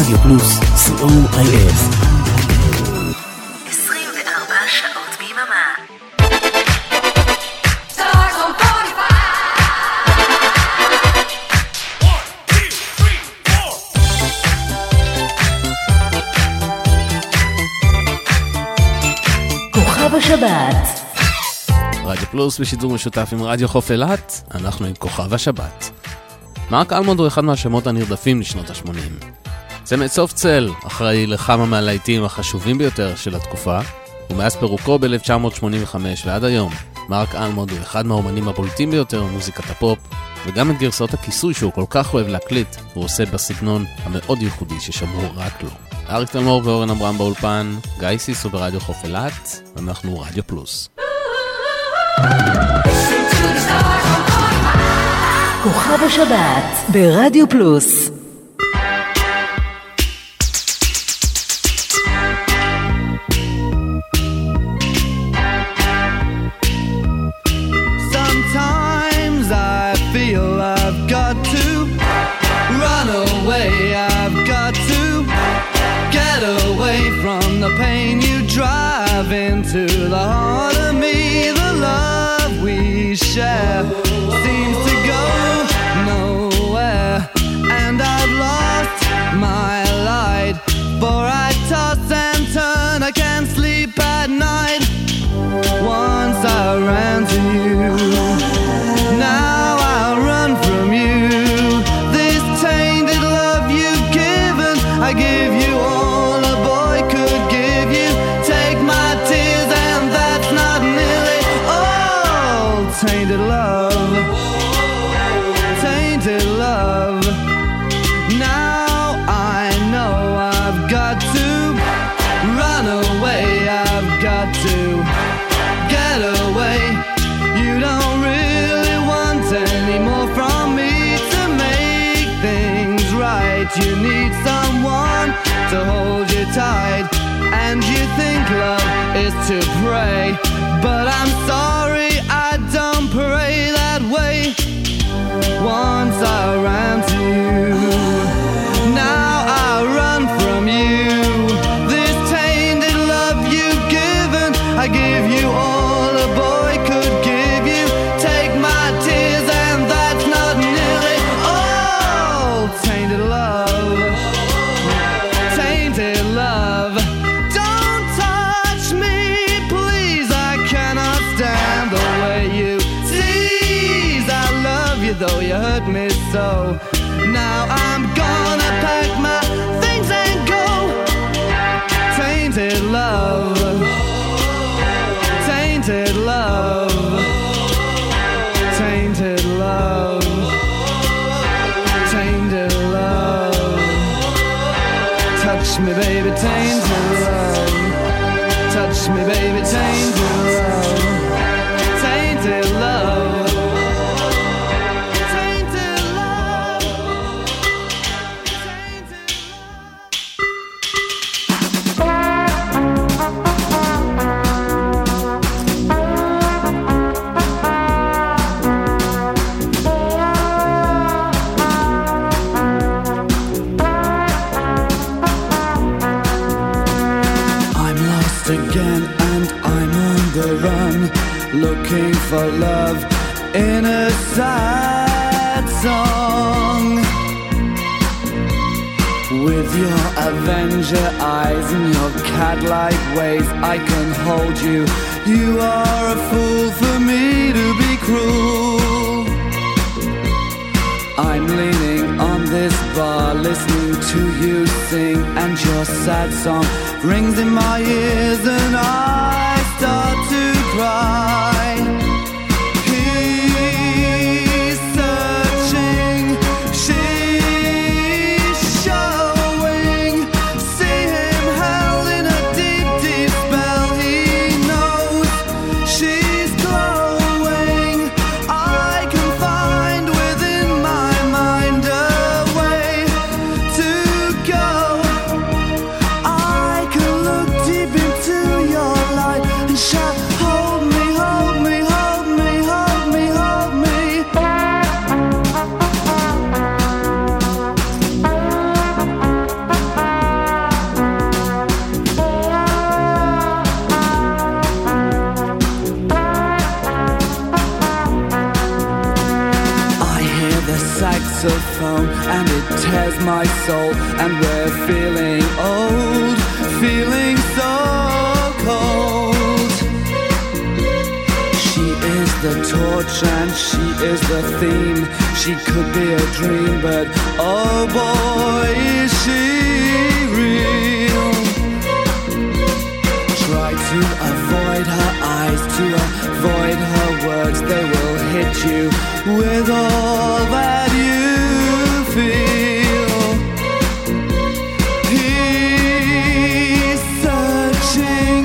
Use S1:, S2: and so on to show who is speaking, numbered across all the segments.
S1: רדיו פלוס, COIF.
S2: 24 שעות ביממה.
S3: כוכב השבת.
S4: רדיו פלוס בשידור משותף עם רדיו חוף אילת, אנחנו עם כוכב השבת. מרק אלמונד הוא אחד מהשמות הנרדפים לשנות ה-80. צמד סוף צל אחראי לכמה מהלהיטים החשובים ביותר של התקופה, ומאז פירוקו ב-1985 ועד היום, מרק אלמונד הוא אחד מהאומנים הבולטים ביותר במוזיקת הפופ, וגם את גרסאות הכיסוי שהוא כל כך אוהב להקליט, הוא עושה בסגנון המאוד ייחודי ששמעו רק לו. אריק תלמור ואורן אברהם באולפן, גיא סיסו ברדיו חוף אילת, ואנחנו רדיו פלוס.
S3: כוכב השבת ברדיו פלוס.
S5: Sometimes I feel I've got to run away, I've got to get away from the pain you drive into the heart of me. The love we share seems to go nowhere, and I've lost my light, for I toss and turn, I can't sleep at night. Once I ran to you, now I'll run from you. This tainted love you've given, I give you all a boy could give you. Take my tears and that's not nearly all. Tainted love, tainted love. Now I know I've got to run away, I've got to get away. You don't really want any more from me to make things right. You need someone to hold you tight, and you think love is to pray, but I'm sorry, I don't pray that way. Once I ran to you, now I run from you. This tainted love you've given, I give you all a boy could give you. Take my tears and that's not nearly all. Tainted love, tainted love. Don't touch me, please, I cannot stand the way you tease. I love you though you hurt me so. Now I'm gonna pack my things and go. Tainted love, tainted love, tainted love, tainted love. Touch me baby, tainted love. Touch me baby, tainted love. Tainted love, tainted love, tainted I'm lost again and I'm on the run, looking for love in a sad song. With your Avenger eyes and your cat-like ways, I can hold you. You are a fool for me to be cruel. I'm leaning on this bar, listening to you sing, and your sad song rings in my ears, and I start to cry. He's searching, she's showing. See him held in a deep, deep spell. He knows she's glowing. I can find within my mind a way to go. I can look deep into your light and shout, hold me, hold me. of foam, and it tears my soul, and we're feeling old, feeling so cold. She is the torch and she is the theme. She could be a dream, but oh boy, is she real. Try to avoid her eyes, to avoid her words. They will hit you with all that you feel. He's searching,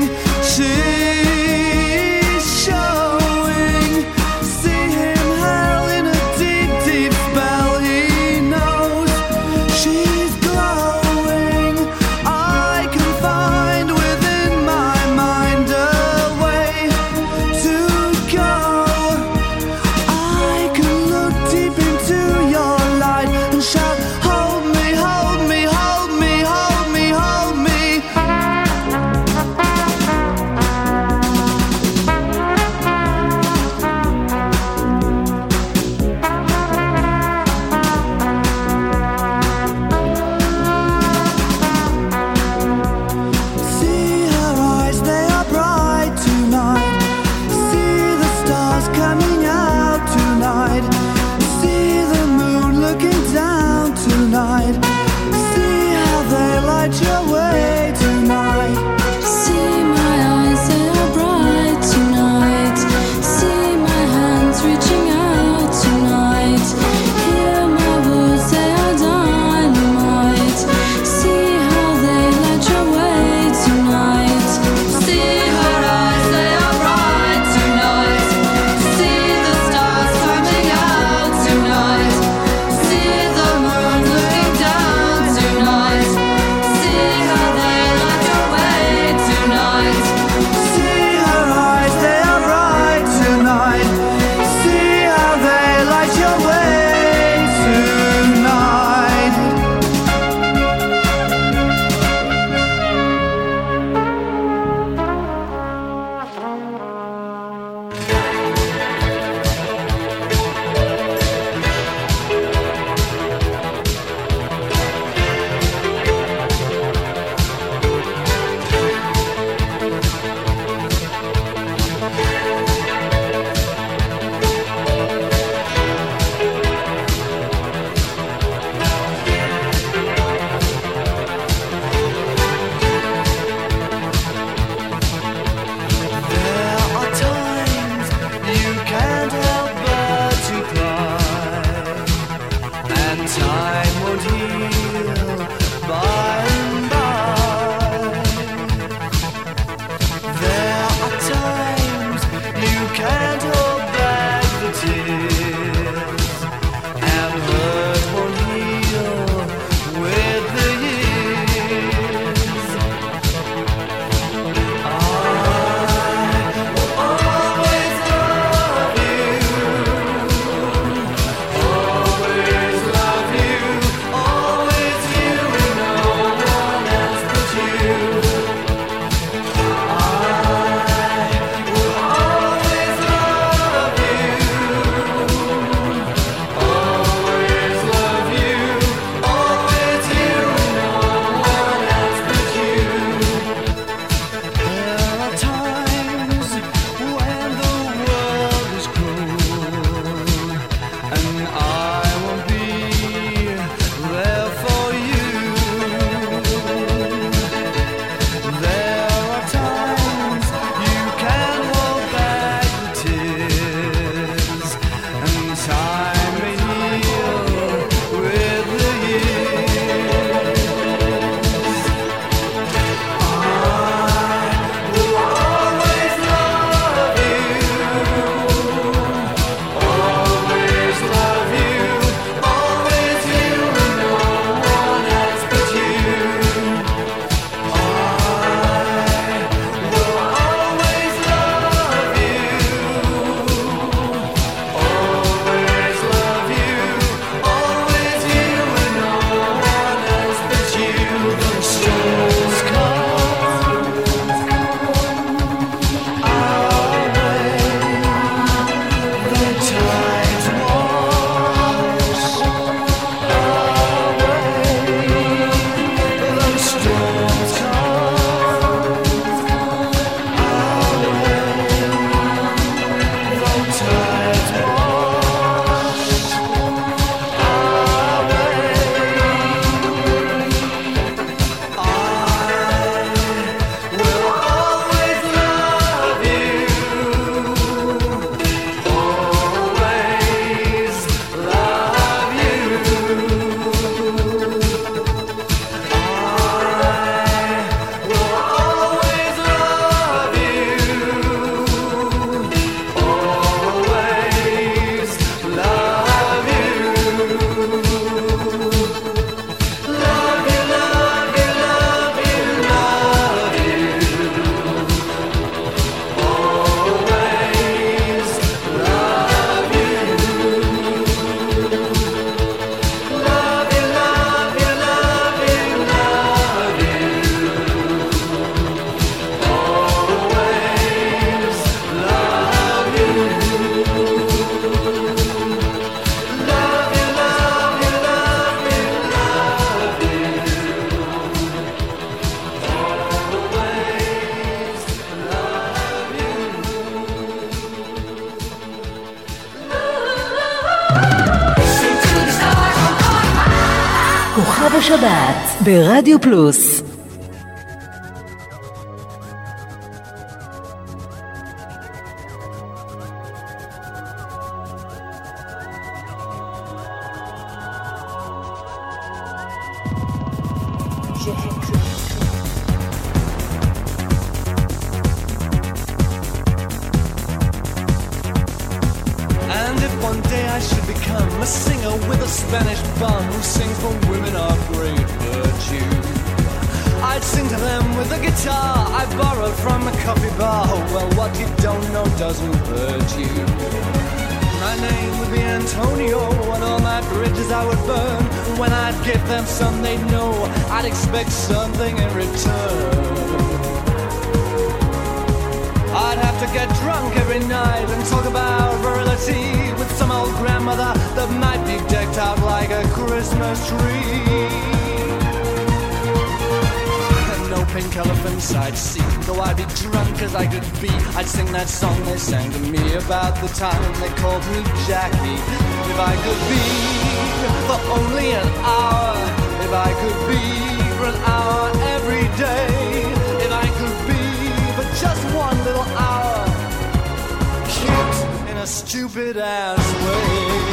S5: she's showing. See him held in a deep, deep spell. He knows she's glowing. I can find within my mind a way to go. I can look deep into
S3: כוכב השבת ברדיו פלוס.
S5: Something in return. I'd have to get drunk every night and talk about virility with some old grandmother that might be decked out like a Christmas tree. And no pink elephants I'd see, though I'd be drunk as I could be. I'd sing that song they sang to me about the time they called me Jackie. If I could be for only an hour, if I could be for an hour every day, if I could be for just one little hour, cute in a stupid ass way.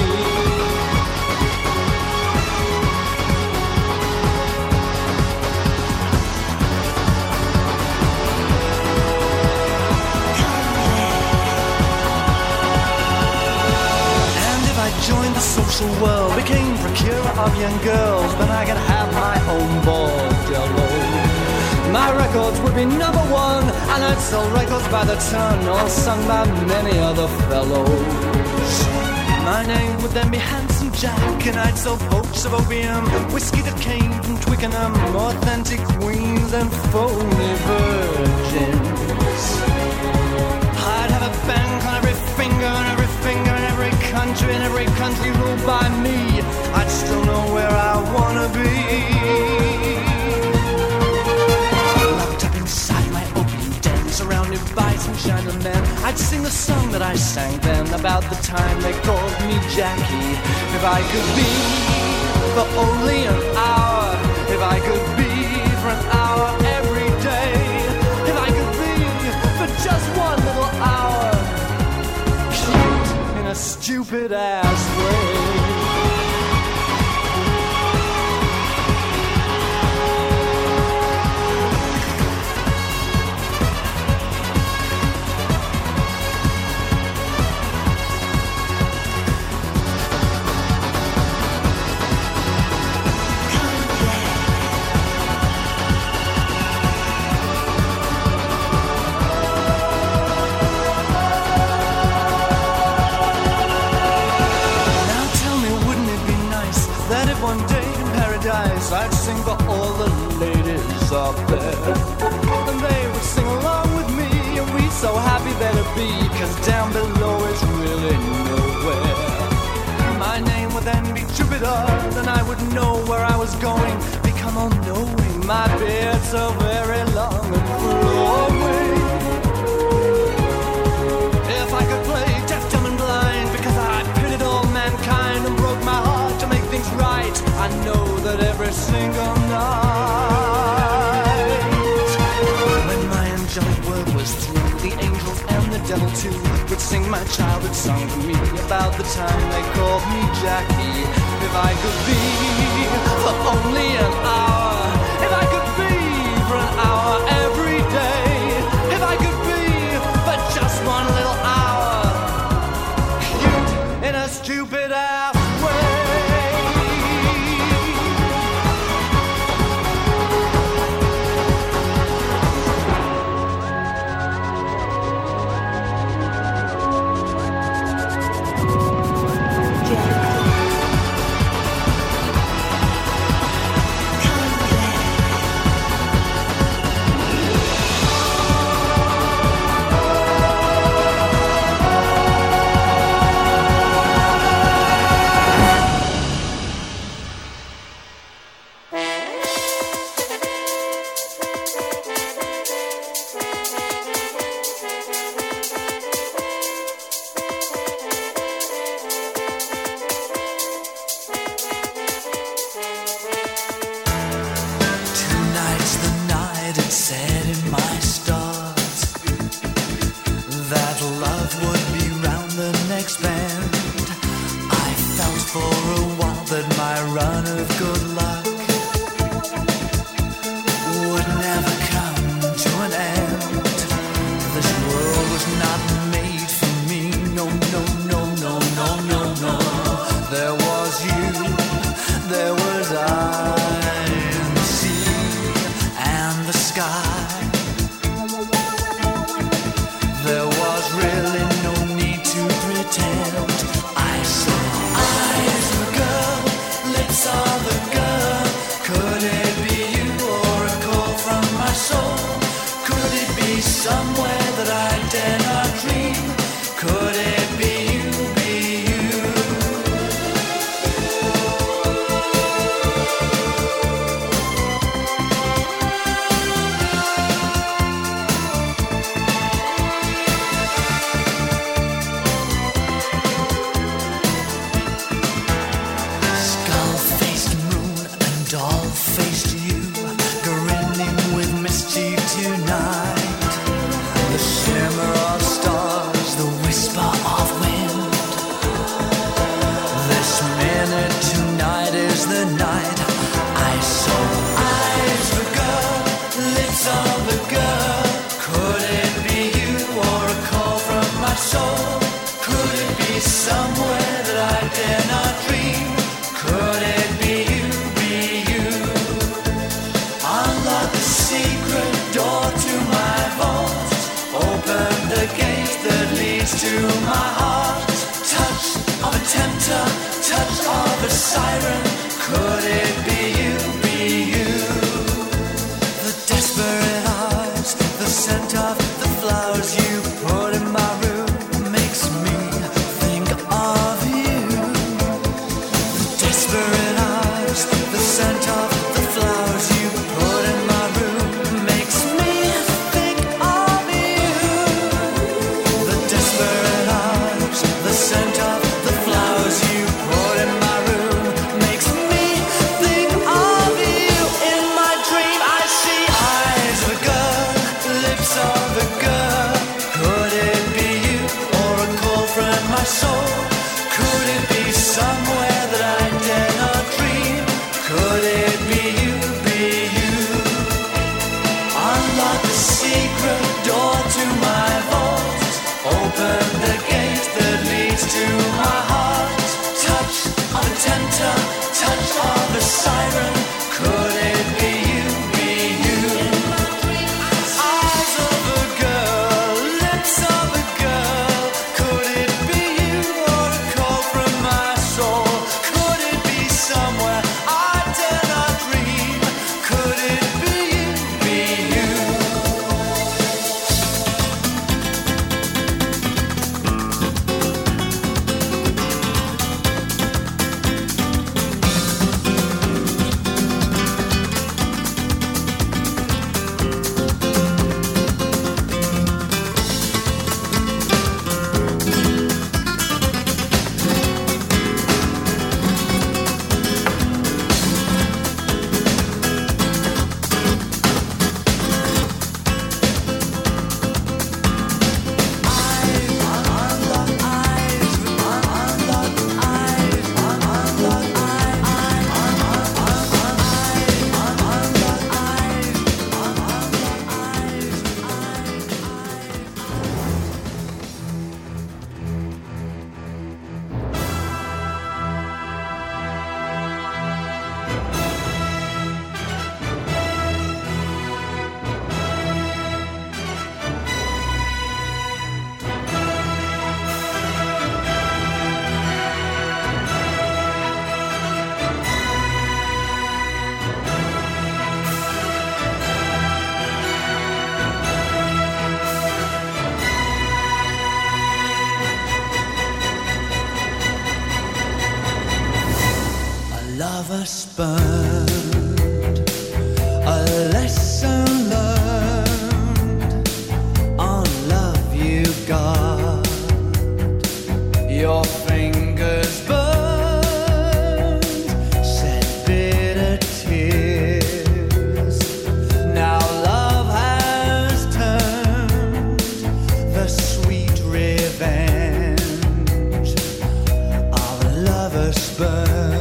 S5: Joined the social world, became procurer of young girls, then I could have my own bordello. My records would be number one, and I'd sell records by the ton, all sung by many other fellows. My name would then be Handsome Jack, and I'd sell poach of opium, whiskey that came from Twickenham, authentic queens and phony virgins. I'd have a bank on every finger and every finger in every country, and every country ruled by me. I'd still know where I wanna be. Locked up inside my opium den, surrounded by some Chinamen, I'd sing the song that I sang then about the time they called me Jackie. If I could be for only an hour, if I could be for an hour every day, if I could be for just one little hour, cute in a stupid ass way. I'd sing for all the ladies up there, and they would sing along with me, and we'd so happy better be, 'cause down below is really nowhere. My name would then be Jupiter, then I would know where I was going, become all knowing, my beard so very long and flowing. If I could play deaf, dumb and blind, because I pitied all mankind and broke my heart to make things right, I know that every single night, when my angelic work was through, the angels and the devil too would sing my childhood song to me about the time they called me Jackie. If I could be for only an hour, if I could be for an hour every day, if I could be for just one little hour, cute in a stupid ass way. I dare not dream. Could it be you, be you? Unlock the secret door to my vault. Open the gate that leads to my heart. Touch of a tempter, touch of a siren. Could it be you, be you? The desperate eyes, the scent of the flowers you put in my room makes me think of you. The desperate eyes, the scent of the flowers you put in my room makes me think of you. The desperate eyes, the scent of the flowers you put in my room makes me think of you. In my dream I see eyes of a girl, lips of a girl. Could it be you or a call from my soul? Could it be somewhere that I dare not dream? Could it be you, be you? Unlock the secret door to my vault. Open the gate that leads to my heart. Touch of a tempter, touch of a siren. Could it be you, be you? Eyes of a girl, lips of a girl. Could it be you or a call from my soul? Could it be somewhere I dare not dream? Could it be you, be you? Lover's burned, a lesson learned. On love you got your fingers burned, shed bitter tears. Now love has turned the sweet revenge of a lover's burn.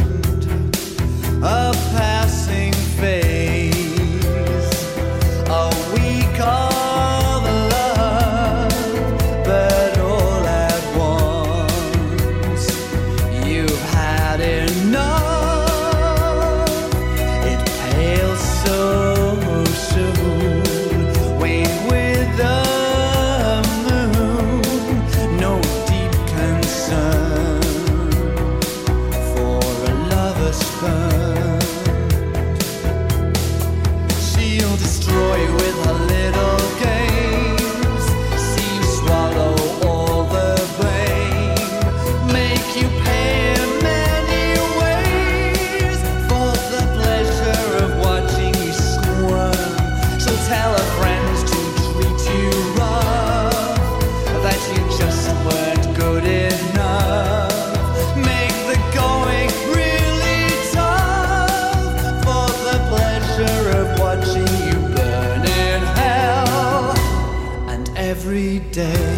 S5: A passing phase, a week of love, but all at once you've had enough. It pales so soon, wane with the moon. No deep concern for a lover's burn. She'll destroy you with her little games, see you swallow all the blame, make you pay in many ways for the pleasure of watching you squirm. She'll tell her friends to treat you rough, that you just weren't good enough, make the going really tough for the pleasure of watching you burn in hell. And every day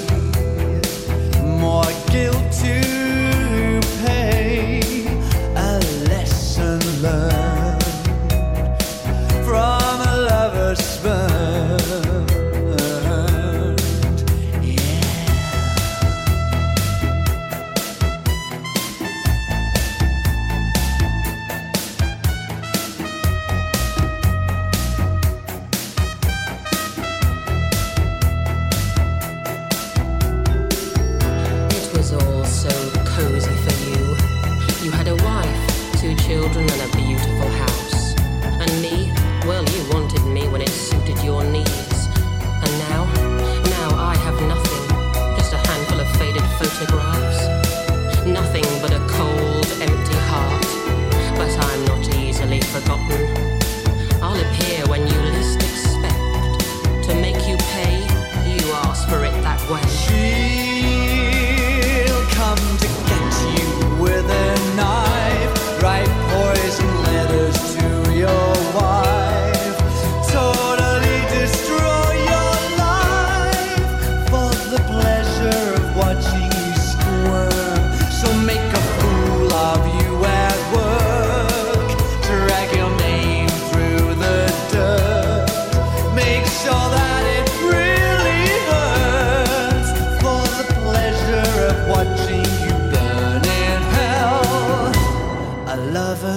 S5: more guilt to pay, a lesson learned from a lover's burned. Yeah.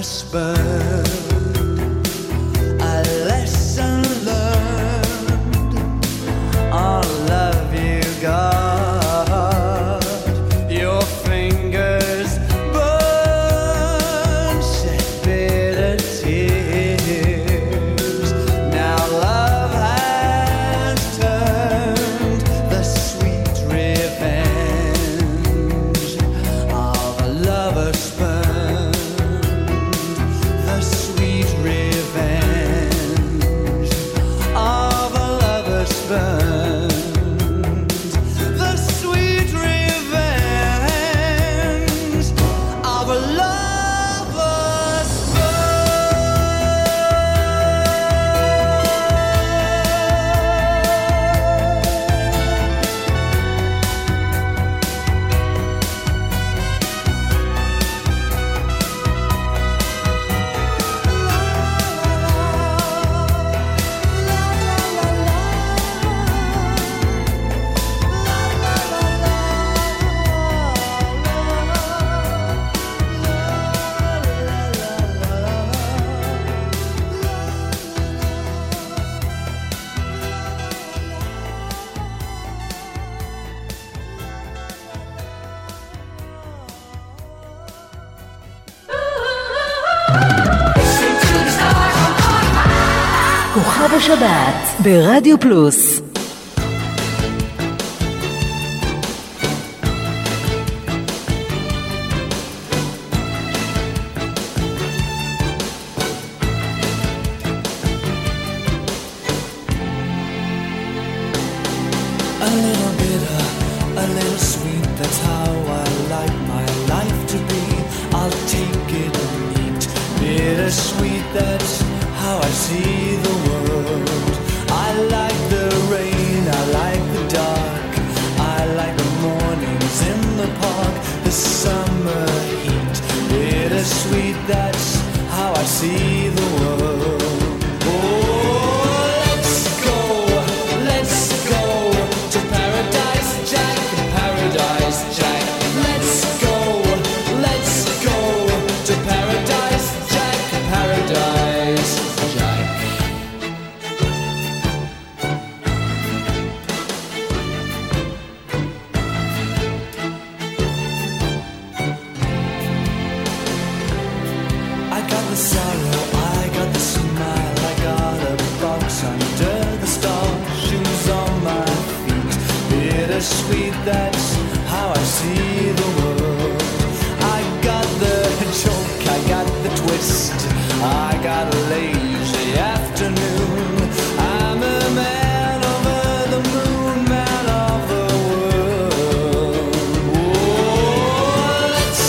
S5: us burn. A lesson learned. I'll love you, God. Your fingers burn, shed bitter tears. Now love has turned the sweet revenge of a lover's burn. The sweet revenge of a lover's burn. The sweet revenge of a lover's
S3: כוכב השבת ברדיו פלוס.
S5: a little bitter, a little sweet. That's how I like my life to be. I'll take it neat, bittersweet. That's how I see the world. I like the rain, I like the dark. I like the mornings in the park, the summer heat. Bittersweet, that's how I see the world. Oh, let's go to Paradise Jack, Paradise Jack. Let's go to Paradise Jack, Paradise Jack. I got the sorrow, I got the smile, I got a box under the stars, shoes on my feet. Bittersweet, that's how I see the world. I got the joke, I got the twist, I got a lazy afternoon. I'm a man over the moon, man of the world. Oh, let's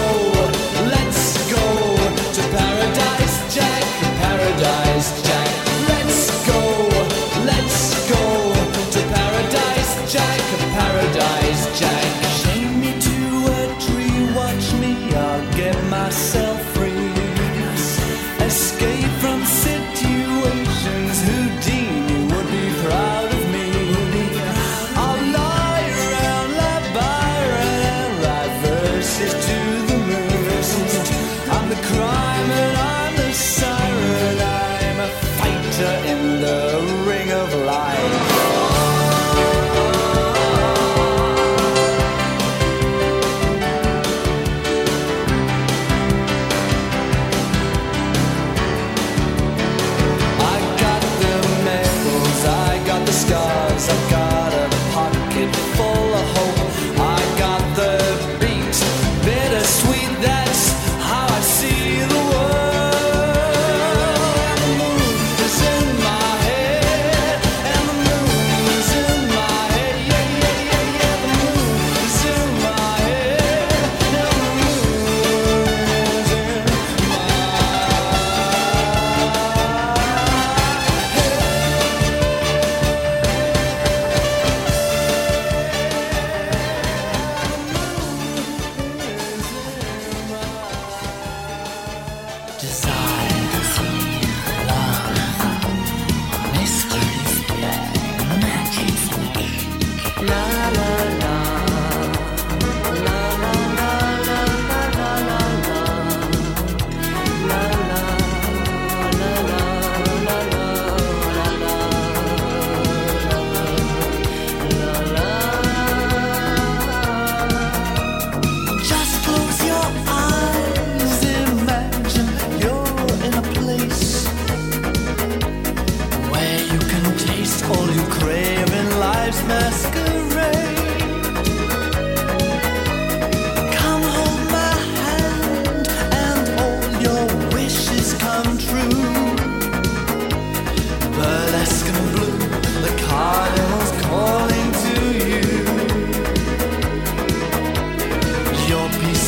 S5: go to Paradise Jack, Paradise Jack. Let's go to Paradise Jack, Paradise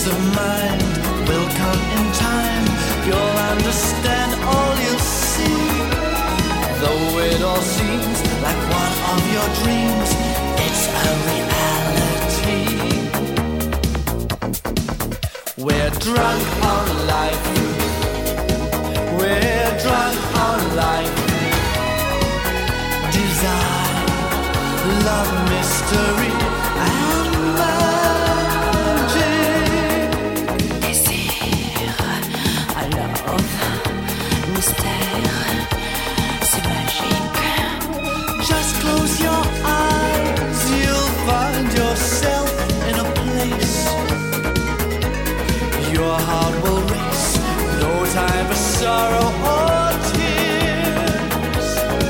S5: peace of mind will come in time. You'll understand all you'll see. Though it all seems like one of your dreams, it's a reality. We're drunk on life. We're drunk on life. Desire, love, mystery, and magic.
S6: Désir, love, mystère, c'est magique.
S5: Just close your eyes, you'll find yourself in a place. Your heart will race, no time for sorrow or tears.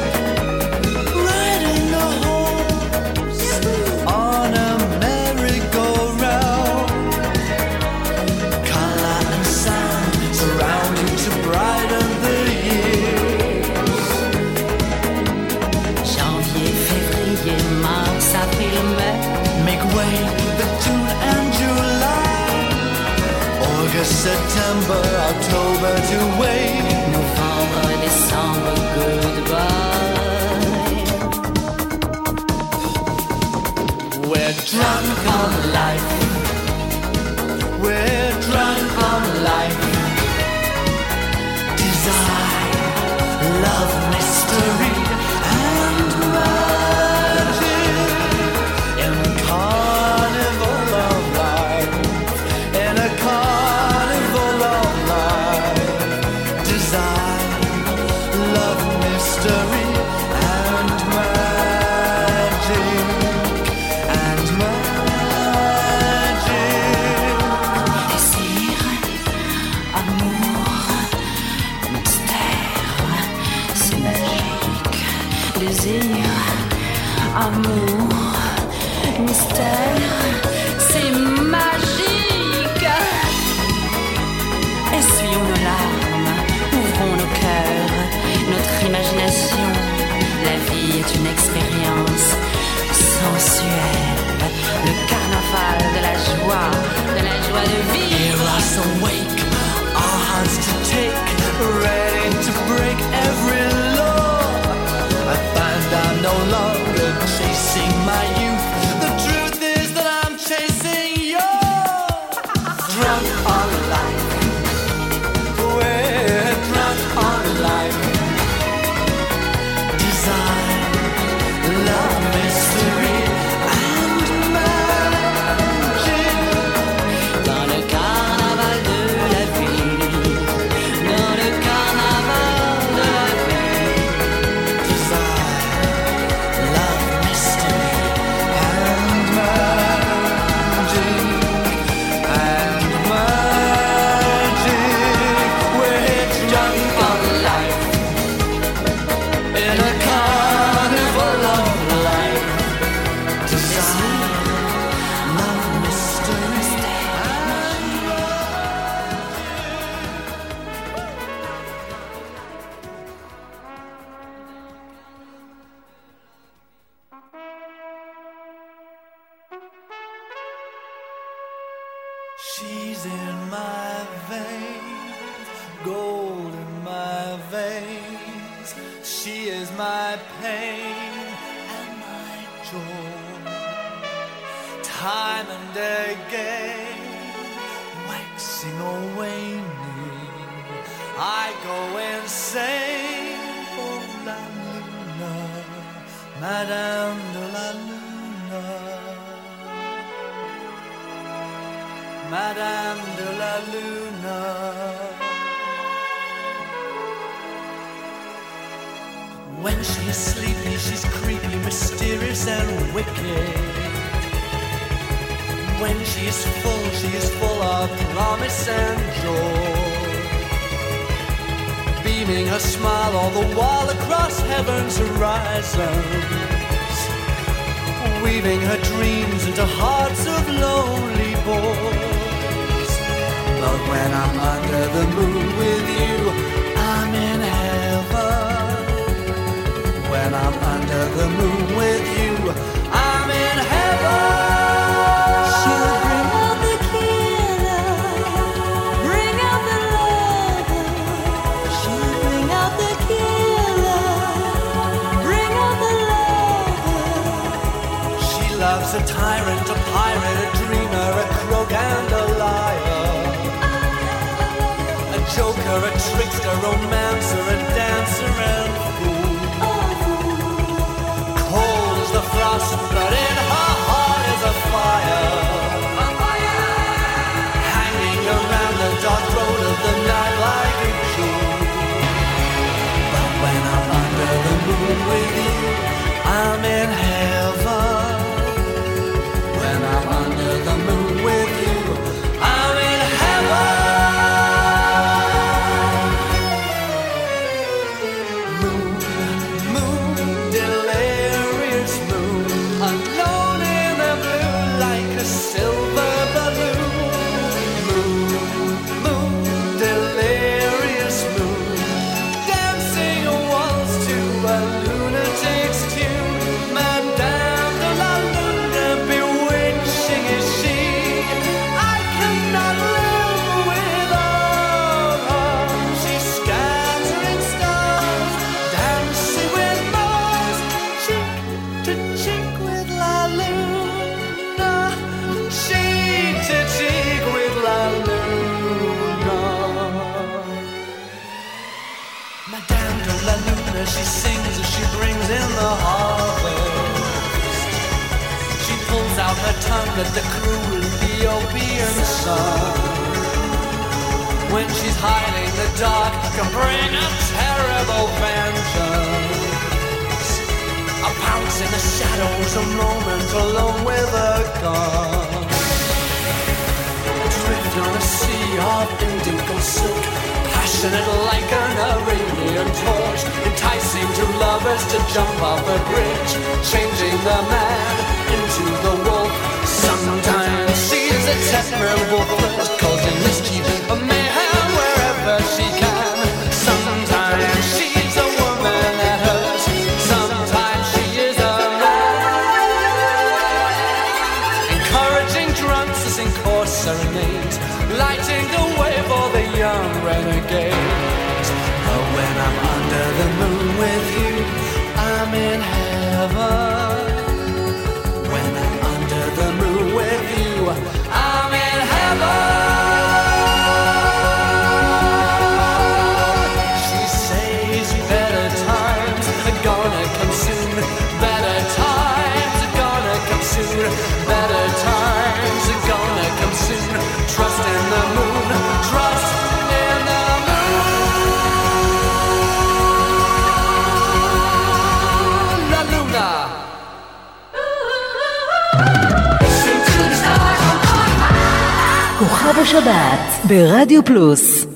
S5: Riding a horse on a merry-go-round. Color and sound surround you to brighten the years.
S6: Janvier, février, mars, avril, mai.
S5: Make way the June and July. August, September, October to wait.
S6: Novembre, décembre, goodbye.
S5: We're drunk on life. We're drunk on life. Desire, love, mystery, and magic. In a carnival of life. In a carnival of life. Desire, love, mystery, and magic. And magic.
S6: Désir, amour, mystère, c'est magique. Désir, amour, mystère, c'est magique. Essuyons nos larmes, ouvrons nos cœurs, notre imagination. La vie est une expérience sensuelle. Le carnaval de la joie de vivre.
S5: Hear us awake, our hearts to take, ready to break every law. I find I'm no longer chasing my youth. The truth is that I'm chasing yours. Drunk on life. We're drunk on life. Desire, love, mystery, and magic.
S6: Dans le carnaval de la vie, dans le carnaval de la vie.
S5: Desire, love, mystery, and magic, and magic. We're drunk on life, in a carnival of life. Desire, love, mystery, and she's in my veins, gold in my veins. She is my pain and my joy. Time and again, waxing or waning, I go insane for La Luna, Madame de la Luna. Madame de la Luna. When she's sleepy, she's creepy, mysterious and wicked. When she is full of promise and joy. Beaming her smile all the while across heaven's horizons. Weaving her dreams into hearts of lonely boys. But when I'm under the moon with you, I'm in heaven. When I'm under the moon with you, I'm in heaven.
S6: She'll bring all the killer
S5: wonder, a trickster, romancer, a dancer and fool. Cold as the frost, but in her heart is a fire. Hanging around the dark road of the night like a jewel. But when I'm under the moon with you, I'm in heaven. When I'm under the moon with you, I'm in heaven. Moon, moon, delirious moon, alone in the blue like a silver balloon. Moon, moon, delirious moon, dancing a waltz to a lunatic's tune. Madame de la Luna, bewitching is she. I cannot live without her. She's scattering stars, dancing with Mars, cheek to cheek with La Luna, cheek to cheek with La Luna. Madame de la Luna, she sings as she brings in the harvest. She pulls out her tongue at the cruel Ethiopian sun. When she's hiding, the dark can bring a terrible vengeance. A pounce in the shadows, a moment alone with a gun. Drift on a sea of indigo silk, passionate like an Arabian torch, enticing two lovers to jump off a bridge, changing the man into the wolf. Sometimes she's a terrible flirt, causing mischief, a mayhem wherever she can. Sometimes she's a woman that hurts, sometimes she is a man, encouraging drunks to sing coarse serenades, lighting the way for the young renegades. But when I'm under the moon with you, I'm in heaven. When I'm under the moon with you, I'm in heaven. She says better times are gonna come soon. Better times are gonna come soon. Better times are gonna come soon. Trust in the moon. Trust in the moon. La Luna.
S3: כוכב השבת ברדיו פלוס.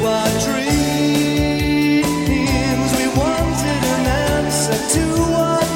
S5: To our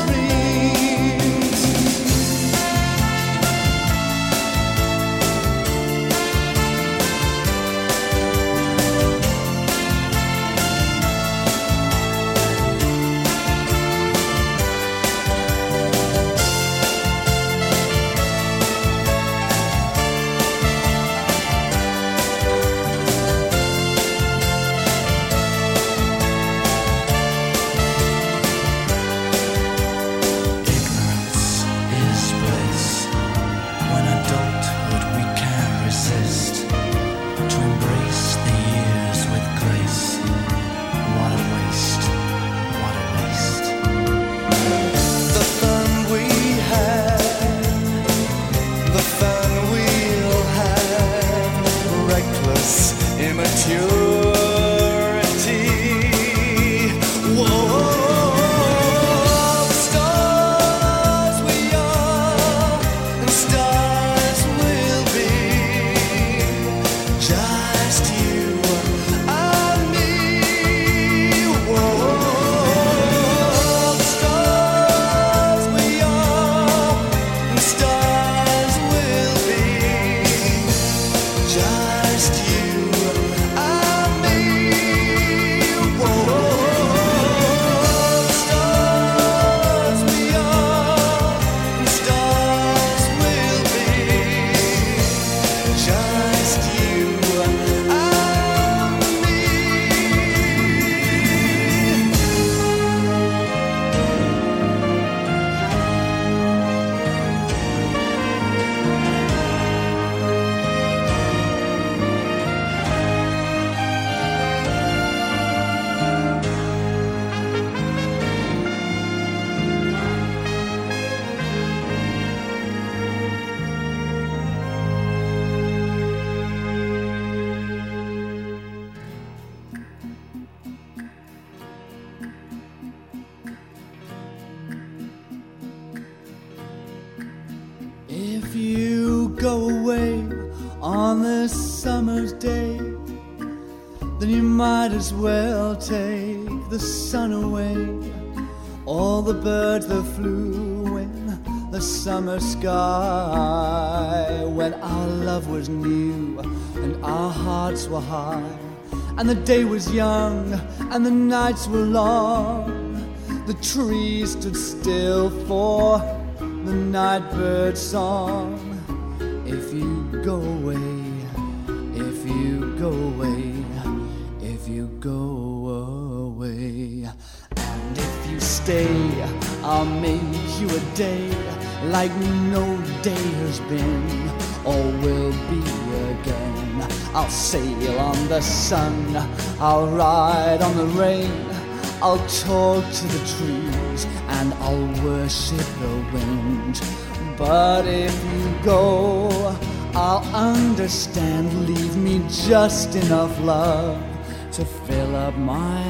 S5: go away on this summer's day, then you might as well take the sun away. All the birds that flew in the summer sky, when our love was new and our hearts were high, and the day was young and the nights were long, the trees stood still for the nightbird's song. If you go away, if you go away, if you go away, and if you stay, I'll make you a day like no day has been or will be again. I'll sail on the sun, I'll ride on the rain, I'll talk to the trees and I'll worship the wind. But if you go, I'll understand. Leave me just enough love to fill up my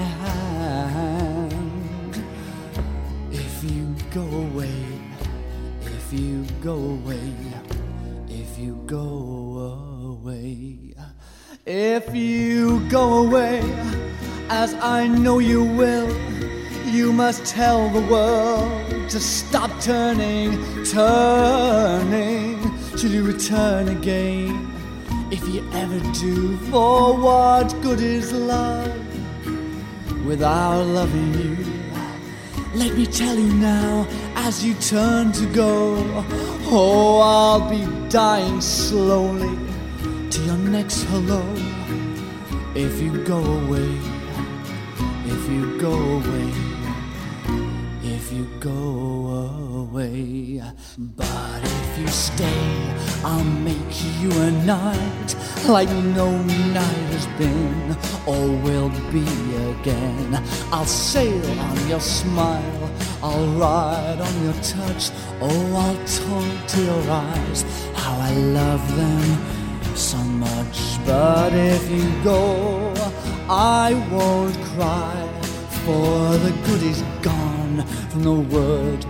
S5: hand. If you go away, if you go away, if you go away, if you go away, as I know you will, you must tell the world to stop turning, turning, till you return again. If you ever do, for what good is love without loving you? Let me tell you now, as you turn to go, oh, I'll be dying slowly to your next hello. If you go away, if you go away, if you go away. But if you stay, I'll make you a night like no night has been or will be again. I'll sail on your smile, I'll ride on your touch, oh, I'll talk to your eyes, how I love them so much. But if you go, I won't cry, for the good is gone from the word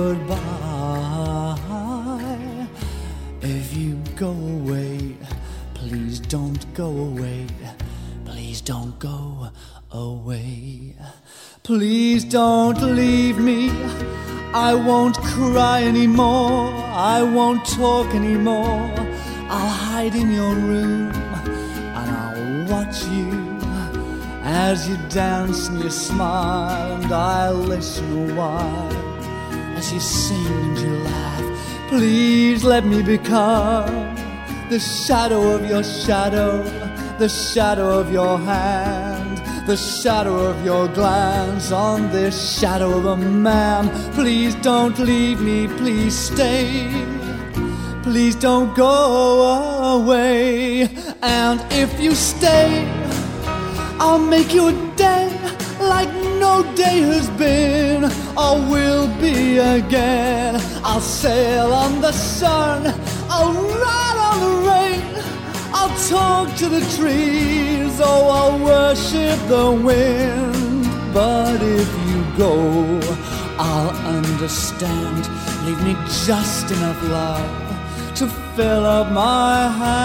S5: goodbye. If you go away, please don't go away, please don't go away. Please don't leave me, I won't cry anymore, I won't talk anymore. I'll hide in your room and I'll watch you as you dance and you smile, and I'll listen a while as you sing and you laugh. Please let me become the shadow of your shadow, the shadow of your hand, the shadow of your glance on this shadow of a man. Please don't leave me, please stay, please don't go away. And if you stay, I'll make you a day like no day has been or will be again. I'll sail on the sun, I'll ride on the rain, I'll talk to the trees, oh, I'll worship the wind. But if you go, I'll understand. Leave me just enough love to fill up my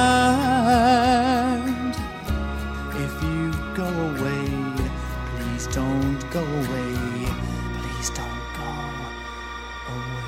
S5: hand. If you go away, please don't go away, please don't go away.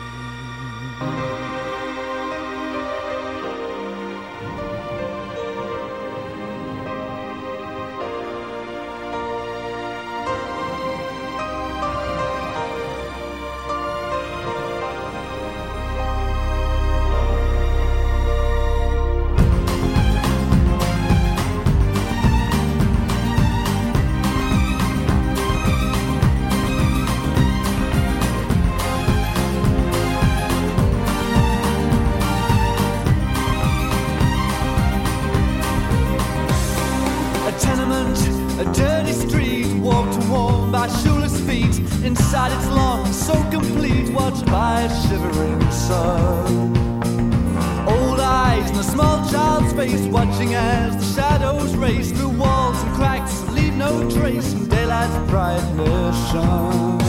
S5: A dirty street, walked and worn by shoeless feet. Inside it's long, so complete, watched by a shivering sun. Old eyes in a small child's face, watching as the shadows race through walls and cracks, leave no trace in daylight's brightness shone.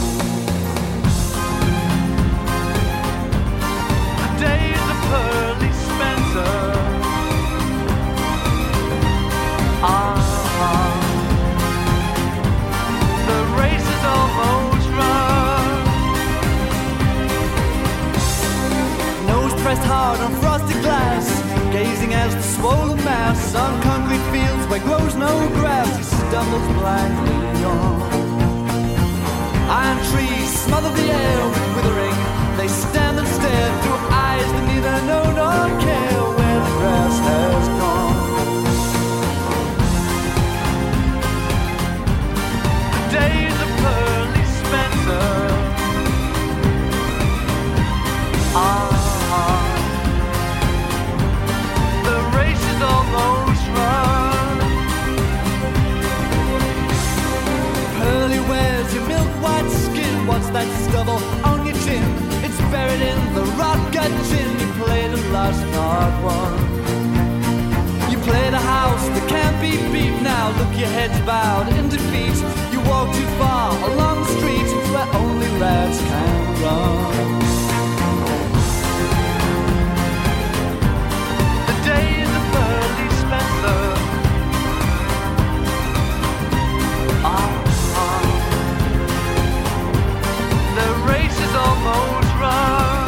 S5: The days are pearly spent on concrete fields where grows no grass, he stumbles blindly on. Iron trees smother the air with withering. They stand and stare through eyes that neither know nor care where the grass has gone. The days of Pearly Spencer are the race is almost run. Pearly wears your milk white skin. What's that stubble on your chin? It's buried in the rot gut gin. You played and lost, not won. You played a house that can't be beat. Now look, your head's bowed in defeat. You walk too far along the street where only rats can run. The days of Pearly Spencer are on. The race is almost run.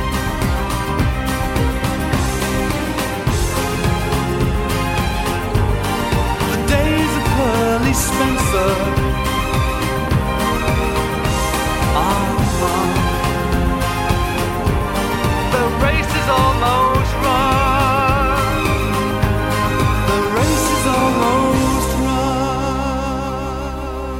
S5: The days of Pearly Spencer are on. The race is almost run. The race is almost run.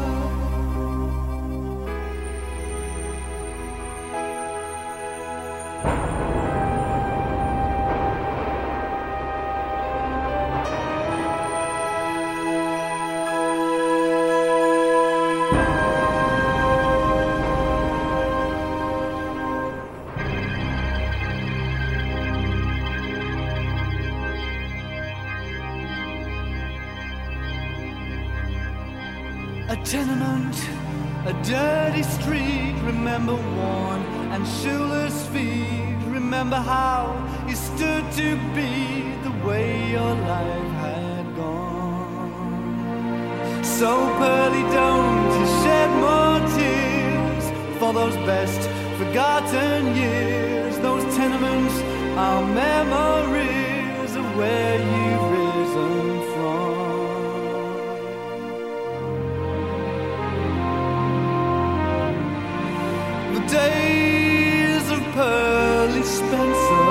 S5: A tenement, a dirty street, remember worn and shoeless feet. Remember how you stood to be the way your life had gone. So Pearly, don't you shed more tears for those best forgotten years. Those tenements are memories of where you've risen from. Days of Pearly Spencer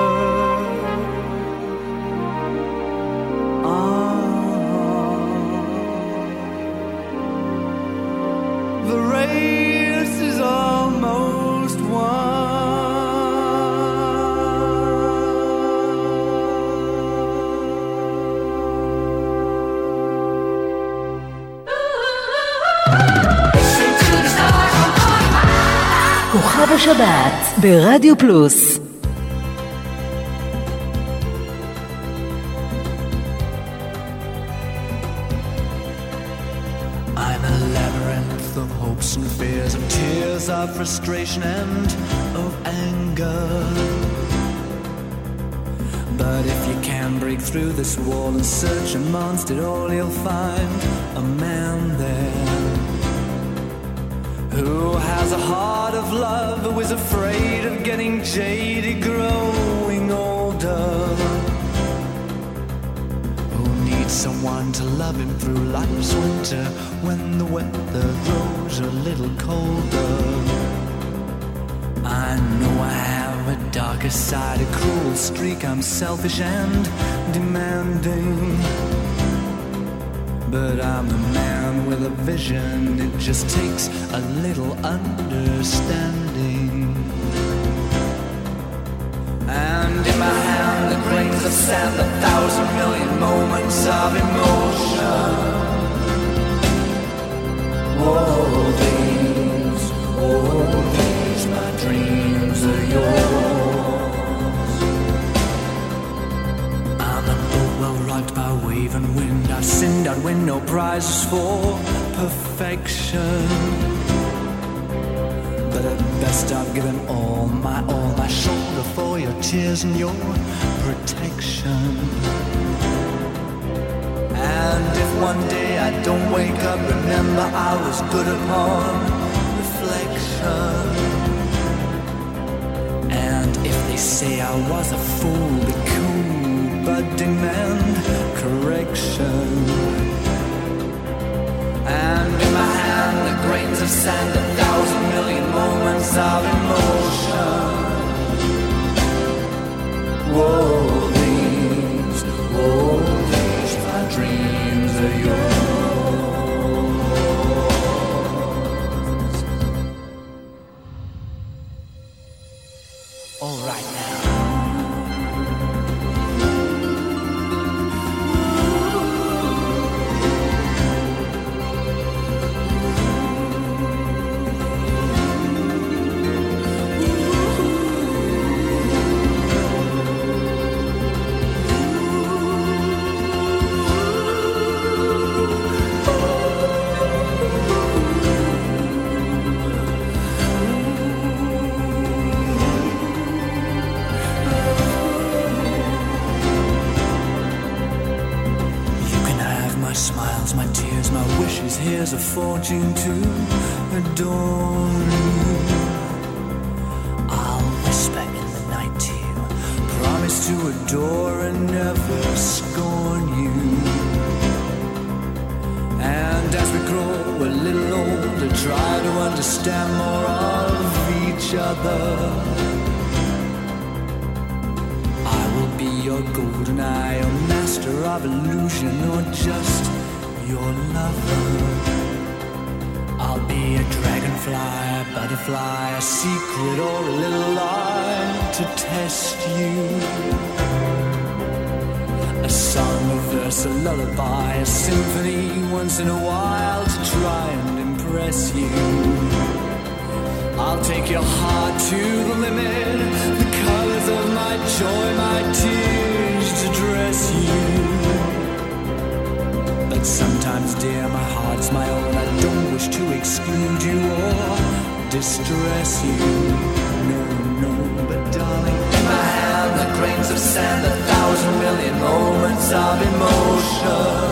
S5: the race is almost won.
S3: כוכב השבת ברדיו פלוס.
S5: I'm a labyrinth of hopes and fears, of tears, of frustration and of anger. But if you can break through this wall and search amongst it all, you'll find a man there who has a heart of love, who is afraid of getting jaded, growing older, who needs someone to love him through life's winter when the weather grows a little colder. I know I have a darker side, a cruel streak, I'm selfish and demanding, but I'm a man with a vision, it just takes a little understanding. And in my hand the grains of sand, 1,000 million moments of emotion. Oh, these, my dreams are yours. I'm a boat well rocked by wave and wind, I've sinned, I'd win no prizes for perfection, but at best I've given all my shoulder for your tears and your protection. And if one day I don't wake up, remember I was good upon reflection. And if they say I was a fool, be cool, but demand correction. And in my hand the grains of sand, 1,000 million moments of emotion. Whoa, these, my dreams are yours. All right now. Here's a fortune to adore you. I'll whisper in the night to you, promise to adore and never scorn you. And as we grow a little older, try to understand more of each other. I will be your golden eye, your master of illusion, or just your lover. I'll be a dragonfly, a butterfly, a secret or a little lie to test you. A song, a verse, a lullaby, a symphony once in a while to try and impress you. I'll take your heart to the limit, the colors of my joy, my tears to dress you. But sometimes, dear, my heart's my own. I don't wish to exclude you or distress you. No, no, but darling, in my hand the grains of sand, 1,000 million moments of emotion.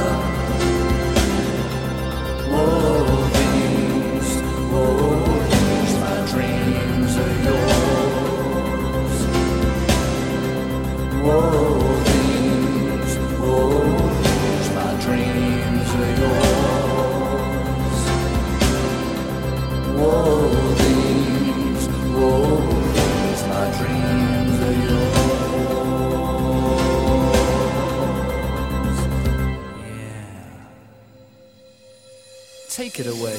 S5: Whoa, these, my dreams are yours. Whoa. Dreams are yours. Whoa, these, my dreams are yours. Yeah. Take it away.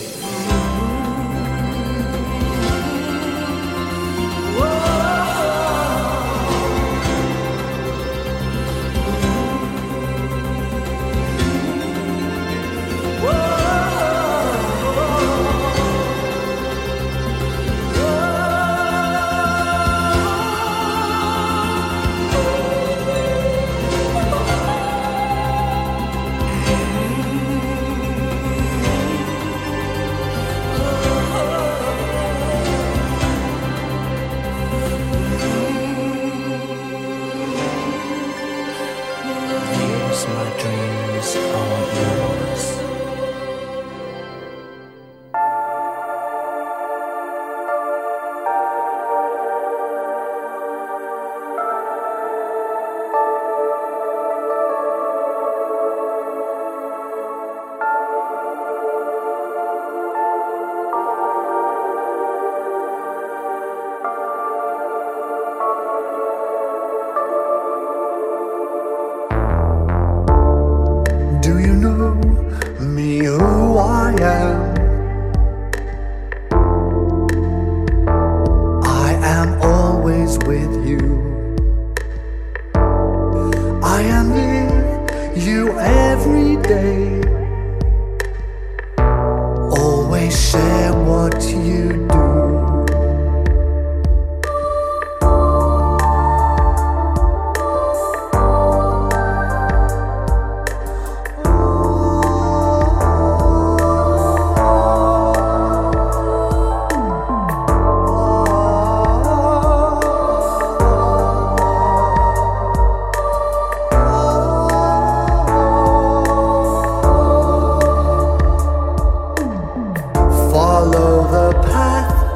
S7: Follow the path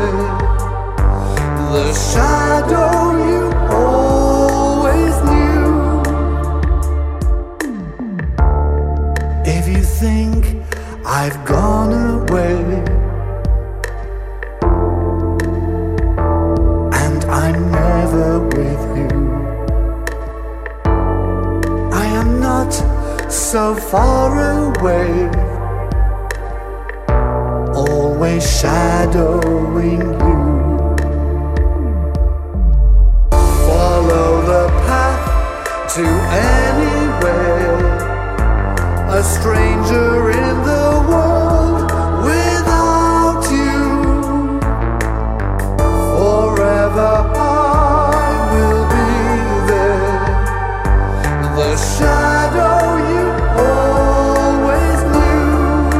S5: there, the shadow you always knew. If you think I've gone away and I'm never with you, I am not so far away, always shadowing you. Follow the path to anywhere, a stranger in the world without you. Forever I will be there, the shadow you always knew.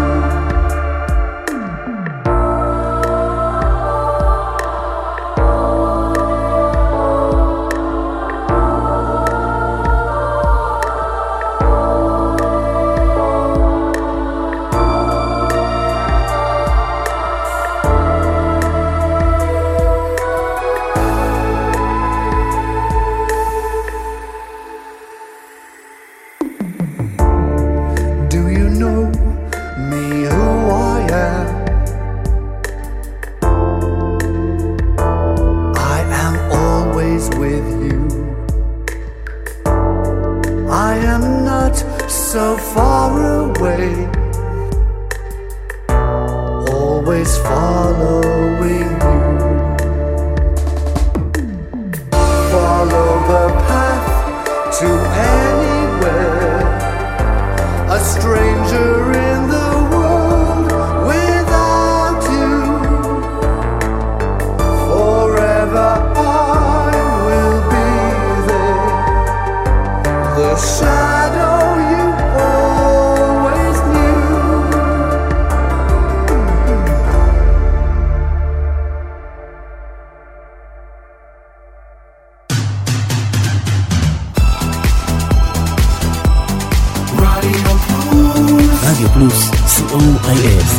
S1: רדיו פלוס, co.il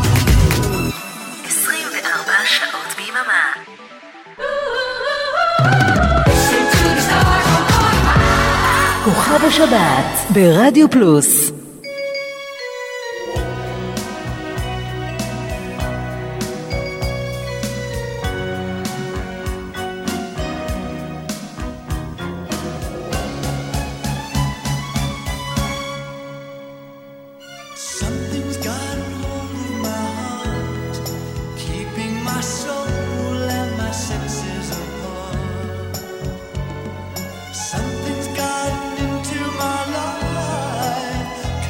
S2: 24 שעות ביממה.
S3: כוכב השבת ברדיו פלוס.
S5: Something's gotten into my life,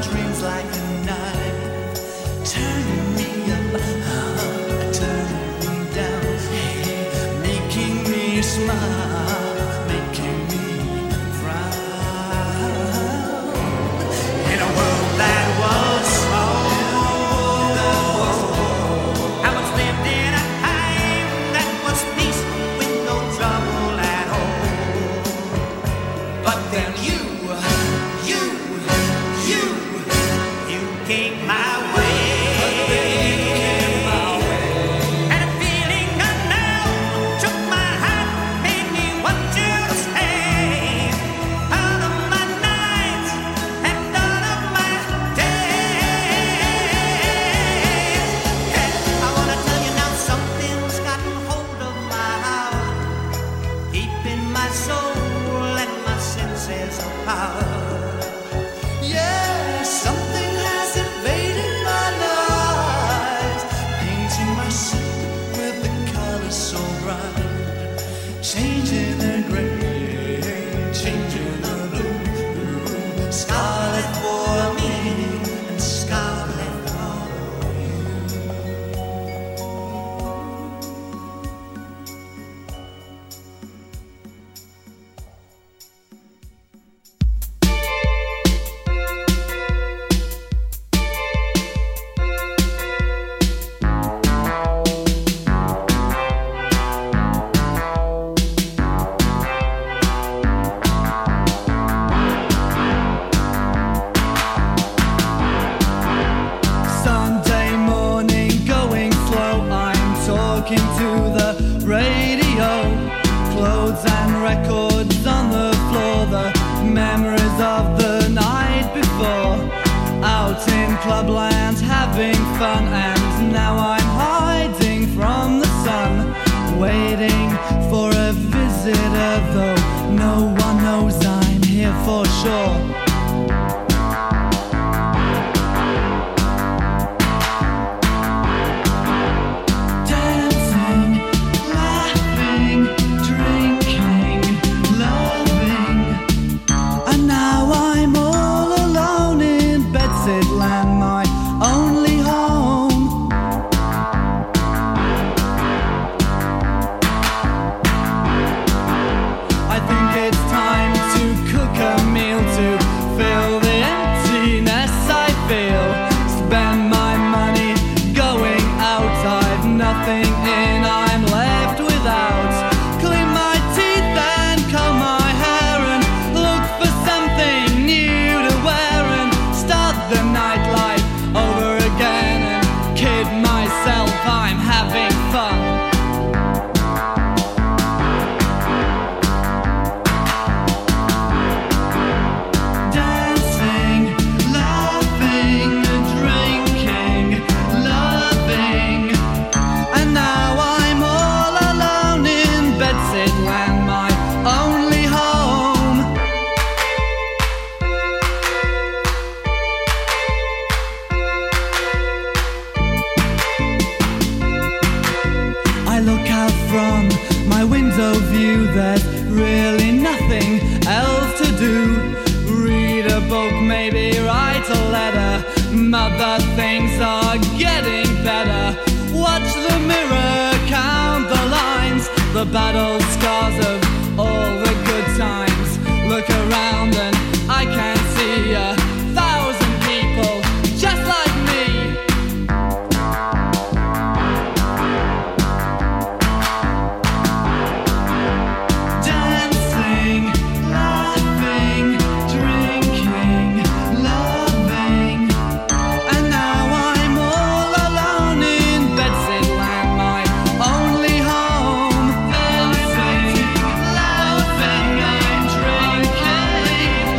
S5: dreams like a knife, turning me up, turning me down, making me smile, making me frown. In a world that was small, I was lived in a time that was peace with no trouble at all. But then you came my way. And a feeling unknown took my heart, made me want to stay. Out of my nights and out of my days. And I wanna tell you now, something's gotten hold of my heart, keeping my soul and my senses apart. Yeah, something has invaded my life, painting my soul with the colors so bright, changing the gray, changing the blue, scarlet for me and scarlet for you. Sunday morning, going slow, I'm talking to the radio. Clothes and records on the floor, the memories of the night before. Out in clubland having fun, and now I'm hiding from the sun, waiting for a visitor, though no one knows I'm here for sure. Dancing, laughing, drinking, loving, and now I'm all alone in Bedsidland, my only home. I think it's time to cook a meal to fill the emptiness I feel. Spend my money going out, I've nothing in, I'm left without. Clean my teeth and comb my hair and look for something new to wear and start the nightlife over again and kid myself I'm having fun. Dancing, laughing, drinking, loving, and now I'm all alone in Bedsidland, my only home. I look out from my window view, there's really nothing else to do. Read a book, maybe write a letter, mother things are getting better. Watch the mirror, count the lines, the battle scars of all the good times. Look around and I can see 1,000 people just like me. Dancing, laughing, drinking, loving, and now I'm all alone in Bedsidland, my only home. Dancing, laughing, and drinking,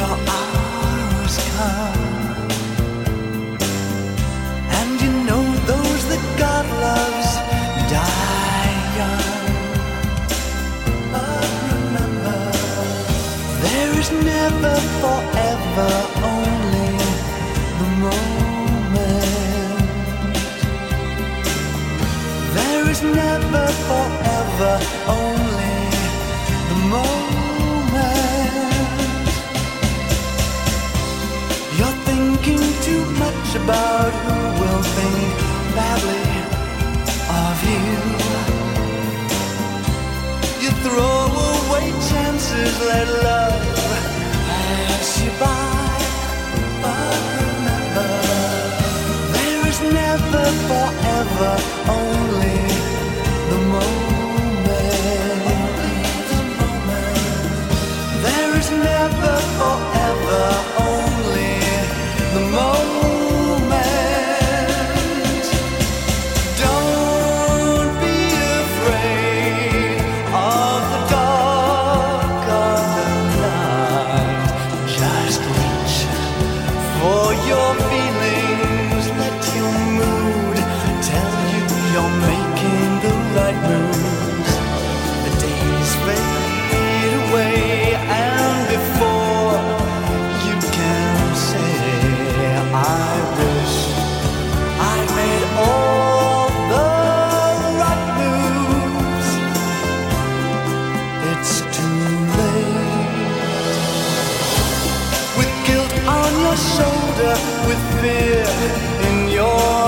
S5: your hours come, and you know those that God loves die young. But remember, there is never forever, only the moment. There is never forever, only the moment. You're thinking too much about who will think badly of you. You throw away chances, let love pass you by. But remember, there is never forever, only the moment. There is never forever, only the moment. Don't be afraid of the dark of the night. Just reach for your feelings, let your mood tell you you're making the right moves. The days fade away, and before you can say I wish I made all the right moves, it's too late. With guilt on your shoulder, with fear in your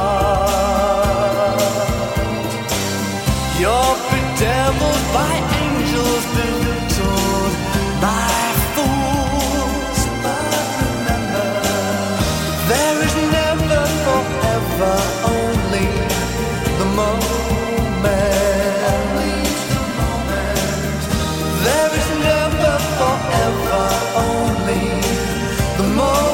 S5: heart, you're bedeviled by angels, belittled by fools. But remember, there is never forever, only the moment. There is never forever, only the moment.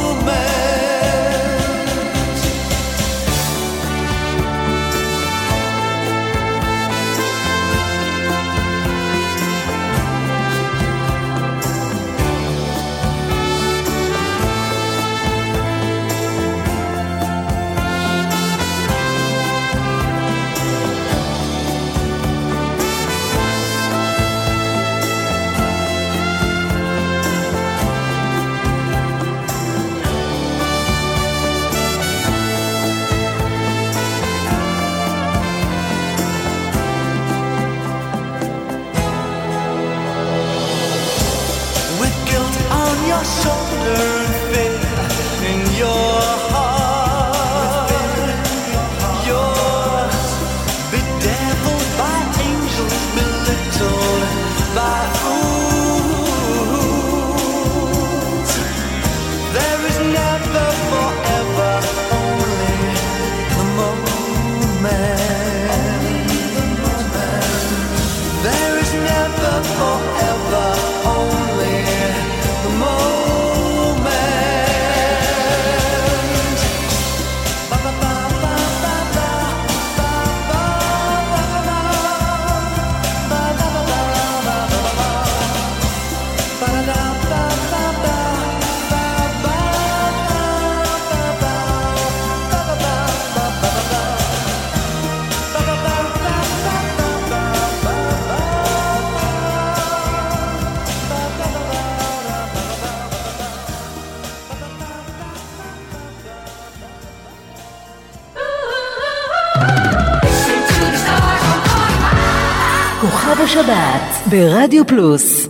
S5: Your shoulder and fear in your heart, you're bedeviled by angels, belittled by fools. There is never forever, only the moment. There is never forever, only the moment.
S3: כוכב השבת ברדיו פלוס.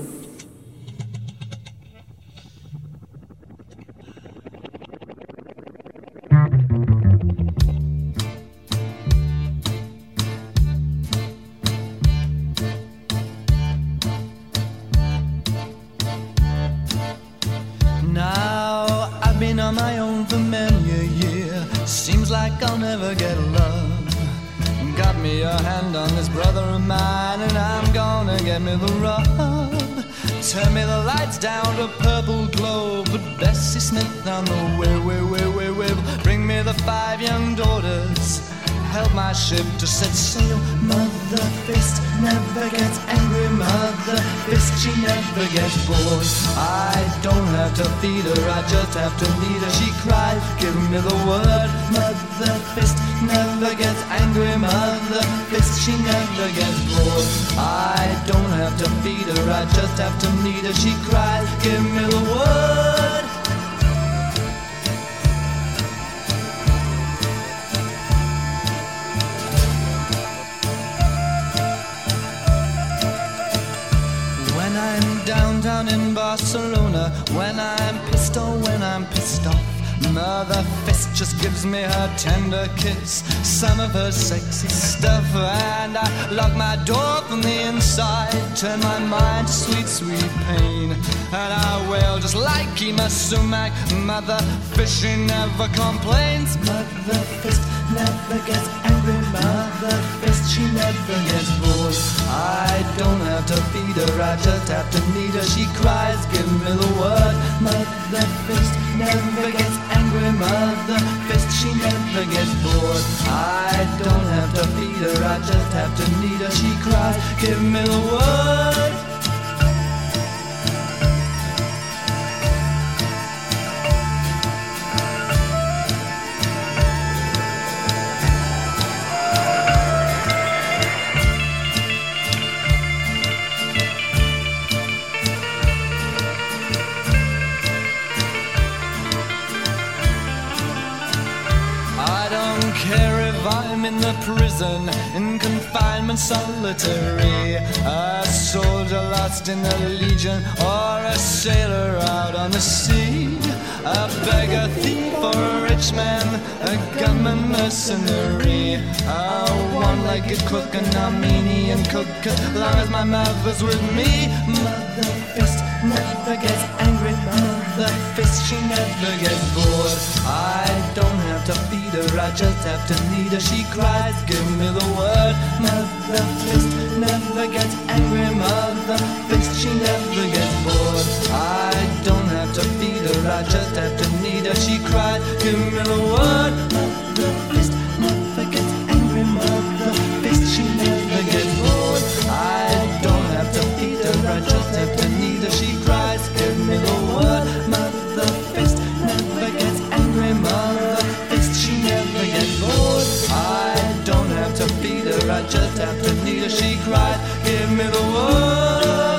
S5: Now I've been on my own for many a year. Seems like I'll never get love. Got me a hand on this brother of mine, and I'm gonna get me the rub. Turn me the lights down to purple glow. Put Bessie Smith on the way. Bring me the 5 young daughters. Help my ship to set sail. Mother, Mother fist never gets angry. Mother fist, she never gets bored. I don't have to feed her, I just have to lead her. She cries, give me the word. Mother fist never gets angry. Mother fist, she never gets bored. I don't have to feed her, I just have to lead her. She cries, give me the word. Downtown in Barcelona, when I'm pissed or when I'm pissed off, Mother fist just gives me her tender kiss, some of her sexy stuff, and I lock my door from the inside, turn my mind to sweet, sweet pain, and I wail just like Kima Sumac. Mother fist, she never complains. Mother fist never gets angry. Mother fist, she never gets bored. I don't have to feed her, I just have to need her. She cries, give me the word. Mother fist never gets angry. Mother fist, she never gets bored. I don't have to feed her, I just have to need her. She cries, give me the word. In the prison, in confinement solitary, a soldier lost in the legion, or a sailor out on the sea, a beggar, thief, or a rich man, a gunman, mercenary, a one-legged cook, an Armenian cook, as long as my mother's with me. Mother fist never gets angry. Mother fist, she never gets bored. I don't have to feed her, I just have to need her. She cries, give me the word. Mother fist never gets angry. Mother fist, she never gets bored. I don't have to feed her, I just have to need her. She cries, give me the word. Mother fist never gets angry. Mother fist, she never gets bored. I don't have to feed her, I just have to need her. She cries, give me the word. Mother fist never gets angry. Mother fist, she never gets bored. I don't have to feed her, I just have to need her. She cries, give me the word.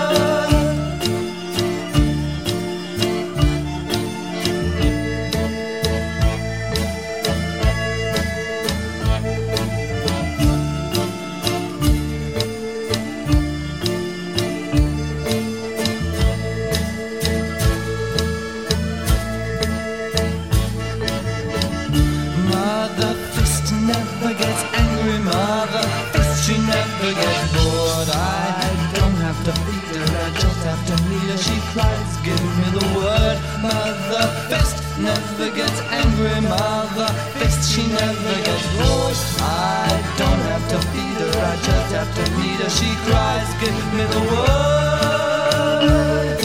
S5: Never gets angry. Mother fist, she never gets bored. I don't have to feed her, I just have to need her. She cries, give me the word. Mother fist never gets angry. Mother fist, she never gets bored. I don't have to feed her, I just have to need her. She cries, give me the word.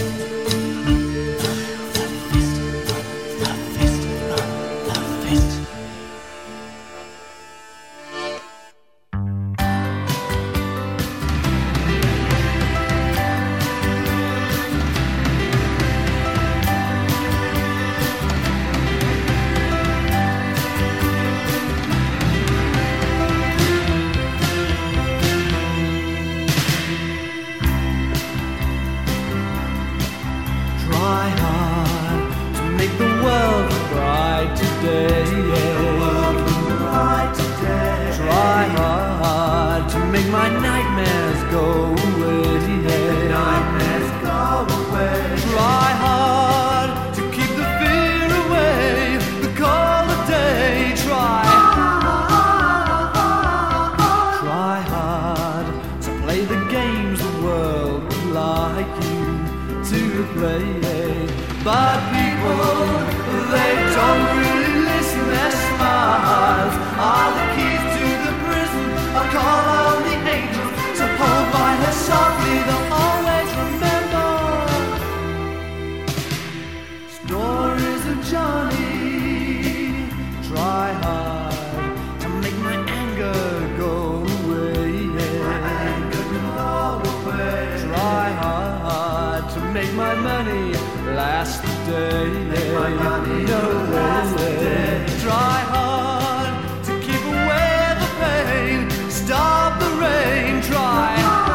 S5: stay. No way. Try hard to keep away the pain. Stop the rain. Try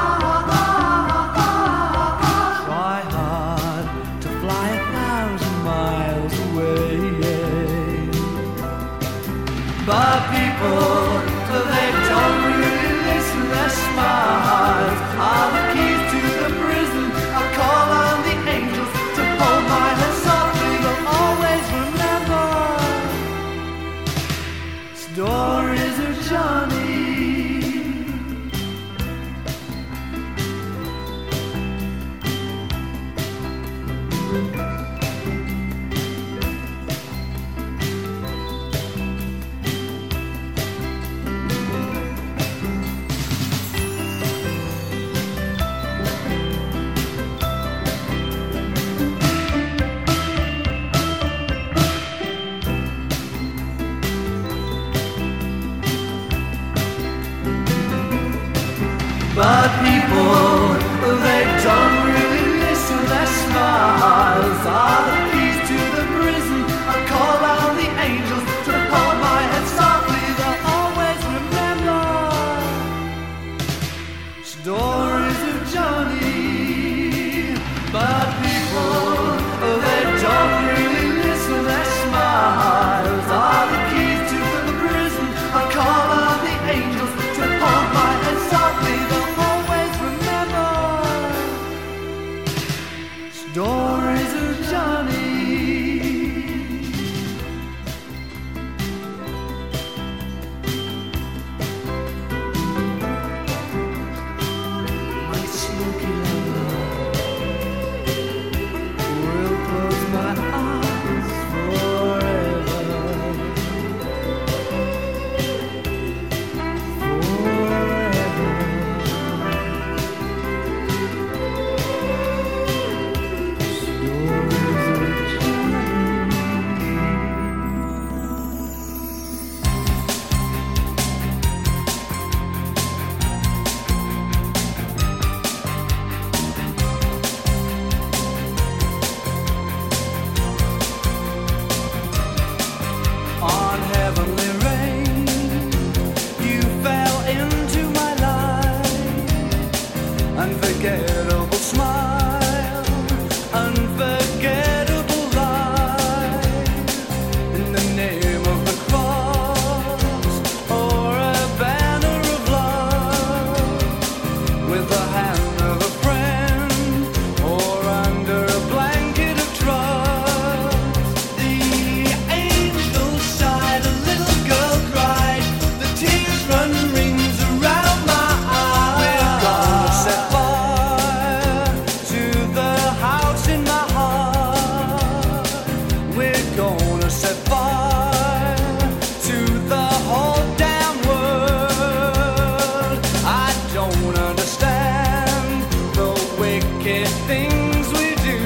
S5: hard to fly 1,000 miles away. But people, they don't really listen. Their smiles are the keys to the prison. I call on the angels to hold my hand softly. They'll always remember stories of Johnny. But people, they don't really listen. Their smiles are the keys to the prison. I call on the angels to hold my head softly. They'll always remember stories of Johnny. But people, they don't really listen. Their smiles are the keys to the prison. I call on the angels to hold my head softly. Stories of Johnny. My smoky love will close my eyes forever. On heavenly rain, you fell into my life. Unforgettable smile, unforgettable life. In the name of the cross, or a banner of love, with the hand of a friend, or under a blanket of trust. The angels sighed, a little girl cried, the tears run rings around my eyes. We're gonna set fire to the house in my heart. We're gonna set fire to the whole damn world. I don't understand the wicked things we do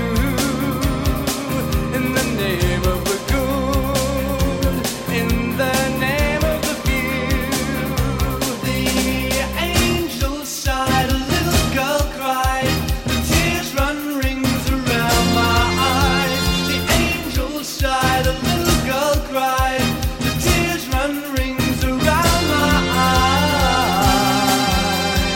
S5: in the name of the good, in the name of the few. The angels sighed, a little girl cried, the tears run rings around my eyes. The angels sighed, a little girl cried, the tears run rings around my eyes.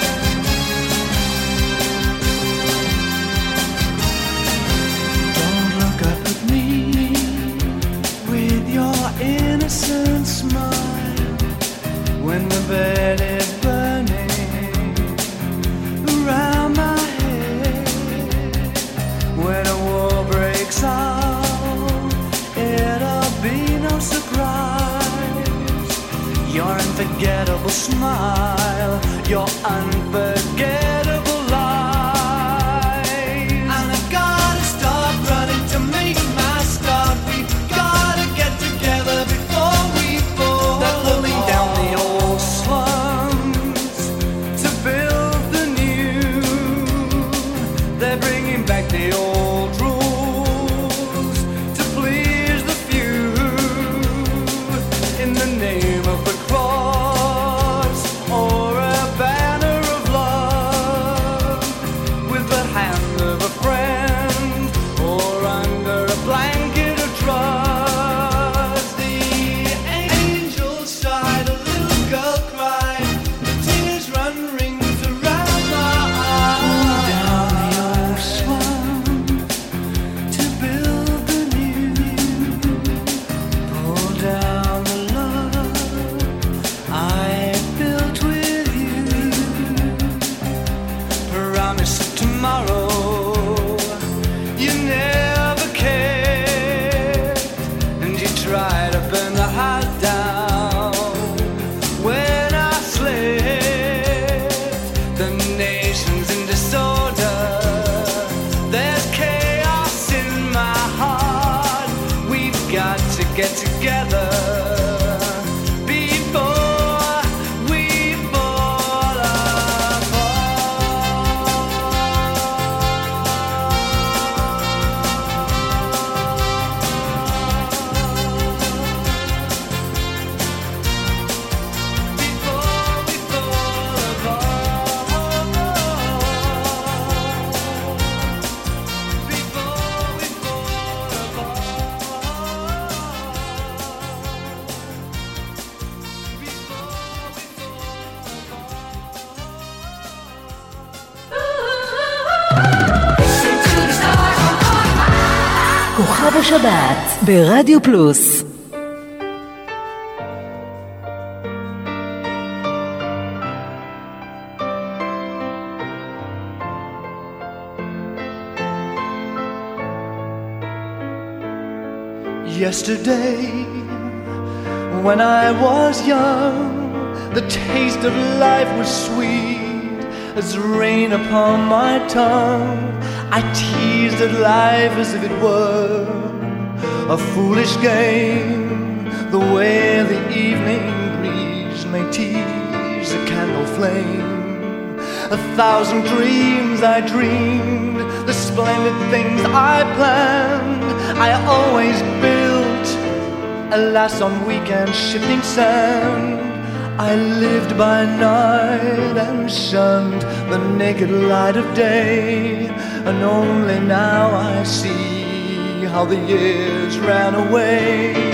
S5: Don't look up at me with your innocent smile when the bed is burning around my head. When a war breaks out, it'll be no surprise. Your unforgettable smile, your unforgettable lies. And I've gotta stop running to make my start. We've gotta get together before we fall. They're pulling down the old slums to build the new. They're bringing back the old rules to please the few. In the name of the cross, or a banner of love, with the hand of a friend, or under a blanket
S3: כוכב השבת ברדיו פלוס.
S5: Yesterday, when I was young, the taste of life was sweet as rain upon my tongue. I teased at life as if it were a foolish game, the way the evening breeze may tease a candle flame. 1,000 dreams I dreamed, the splendid things I planned, I always built, alas on weak and shifting sand. I lived by night and shunned the naked light of day, and only now I see how the years ran away.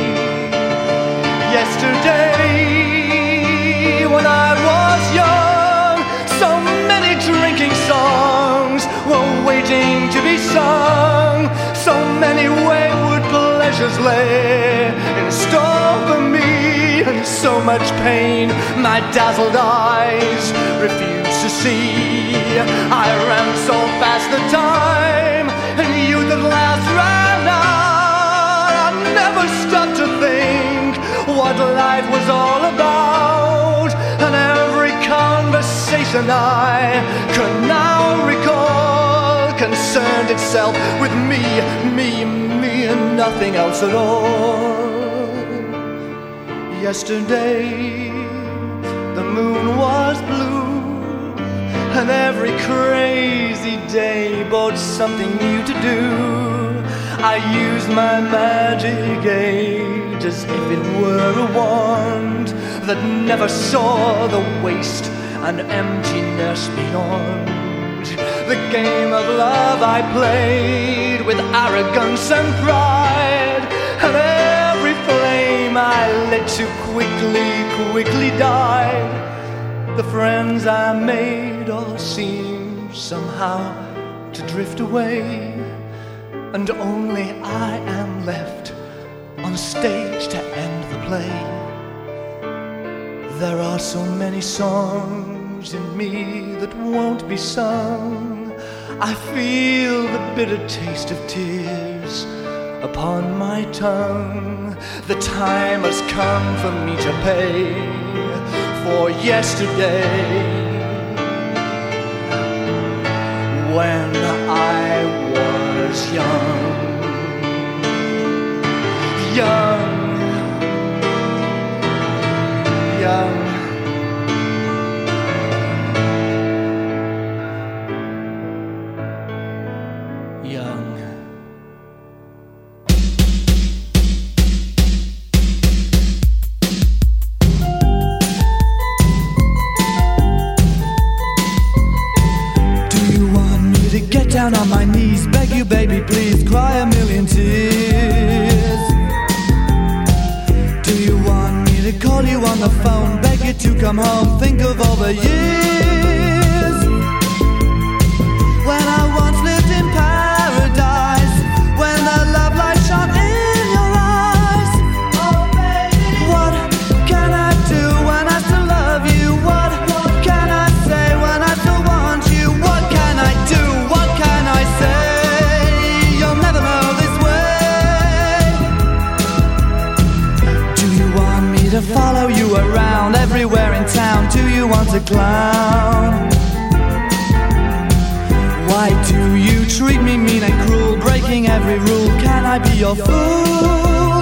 S5: Yesterday, when I was young, so many drinking songs were waiting to be sung. So many wayward pleasures lay in store for me, and so much pain my dazzled eyes refused to see. I ran so fast the time, and youth at last ran out. I never stopped to think what life was all about, and every conversation I could now recall concerned itself with me, and nothing else at all. Yesterday, the moon was blue, and every crazy day brought something new to do. I used my magic age as if it were a wand that never saw the waste and emptiness beyond. The game of love I played with arrogance and pride, and every flame I lit too quickly died. The friends I made all seemed somehow to drift away, and only I am left on stage to end the play. There are so many songs in me that won't be sung. I feel the bitter taste of tears upon my tongue. The time has come for me to pay for yesterday, when I was young. Young. Down on my knees, beg you baby please, cry a million tears. Do you want me to call you on the phone, beg you to come home, think of all the years when I once lived in paradise, when the love light shone in your eyes. Oh baby, what can I do when I still love you? What can I say when I still want you? What can I do? What can I say? You'll never know this way. Do you want me to follow you around everywhere in town? Do you want a clown? Why do you treat me mean and cruel, breaking every rule? Can I be your fool?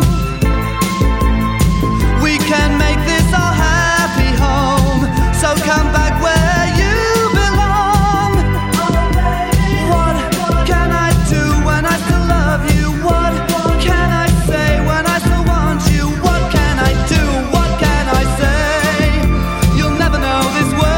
S5: We can make this our happy home, so come back where you belong. What can I do when I still love you? What can I say when I still want you? What can I do? What can I say? You'll never know this way.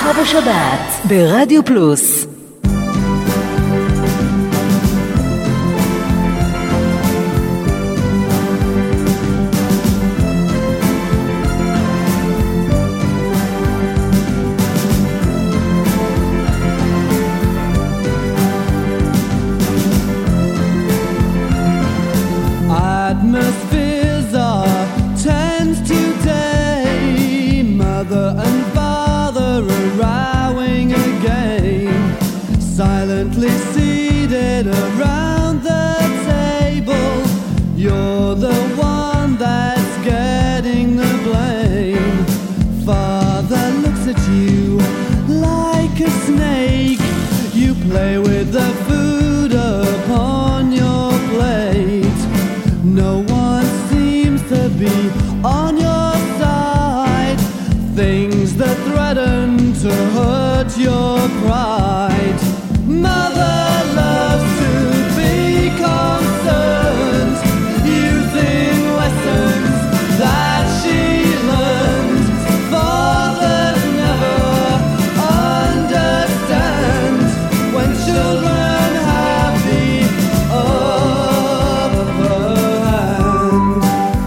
S3: כוכב השבת ברדיו פלוס.
S5: Atmospheres are tense today. Mother and father are rowing again, silently seated around the table. You're the one that's getting the blame. Father looks at you like a snake. You play with the food upon your plate. No one seems to be on your side. Things that threaten to hurt your pride. Mother loves to be concerned, using lessons that she learned. Fathers never understand when children have the upper hand.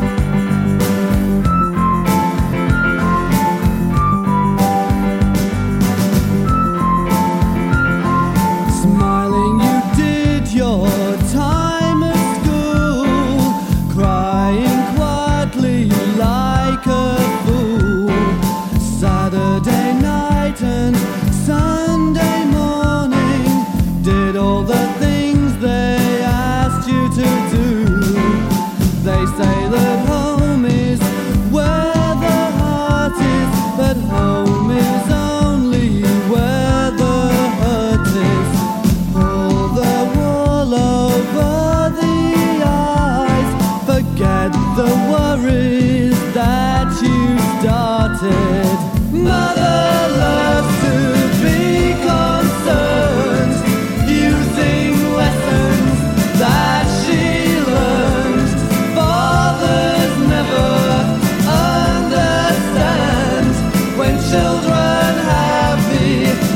S5: Smiling, you did your time at school, crying quietly like a fool. Saturday night and Sunday morning, did all the things they asked you to do. They say that home is where the heart is, but home is only where the hurt is. Pull the wool over the eyes, forget the worries that you started. Mother loves to be concerned, using lessons that she learned. Fathers never understand when children have the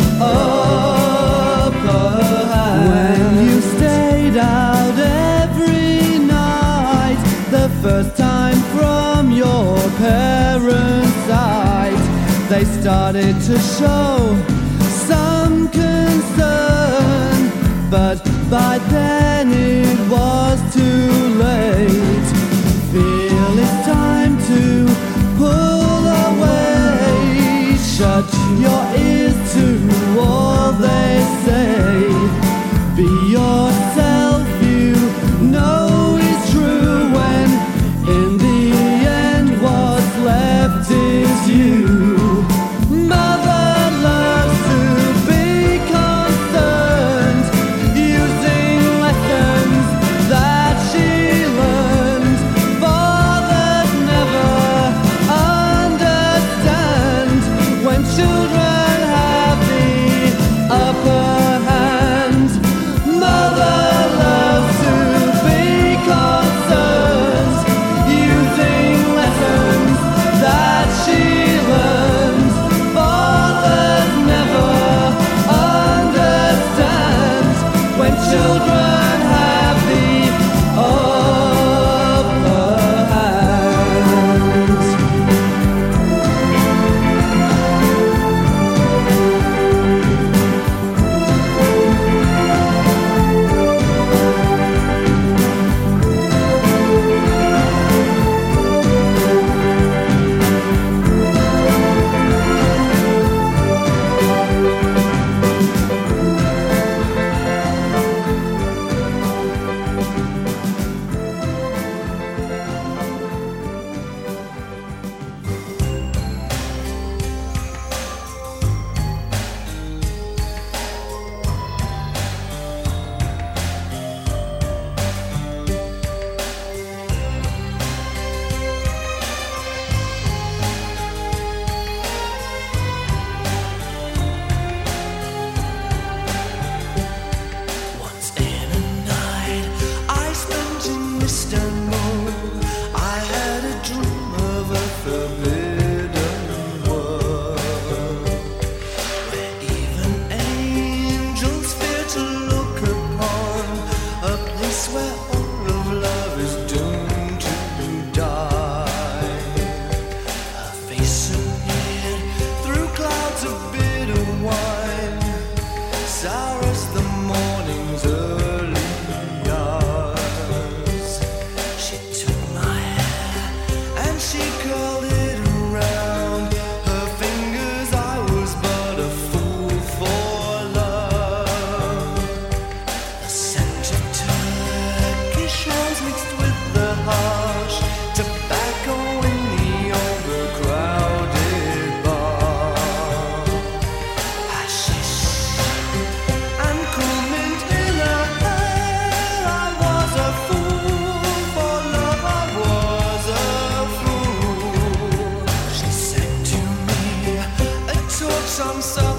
S5: upper hand. When you stayed out every night, the first time from your parents' sight, they started to show some concern, but by then it was too late. Feel it's time to pull away. Shut your ears to all they say. Be yourself, you know it's true, when in the end what's left is you. Mother loves to be concerned, using lessons that she learned. Fathers never understand when children have the upper hand. Mother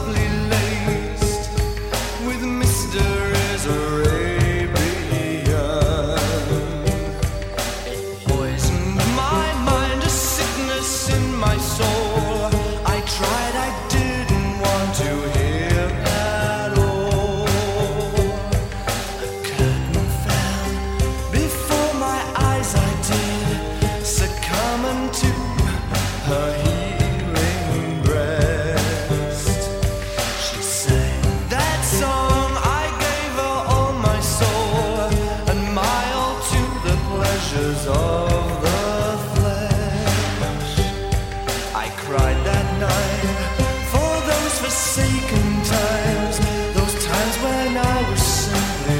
S5: softly laced with mysteries Arabian. It poisoned my mind, a sickness in my soul. I tried, I didn't want to hear at all. A curtain fell before my eyes, I did succumb unto her healing breast. She sang that song, I gave her all my soul, and my all to the pleasures of the flesh. I cried that night for those forsaken times, those times when I was simply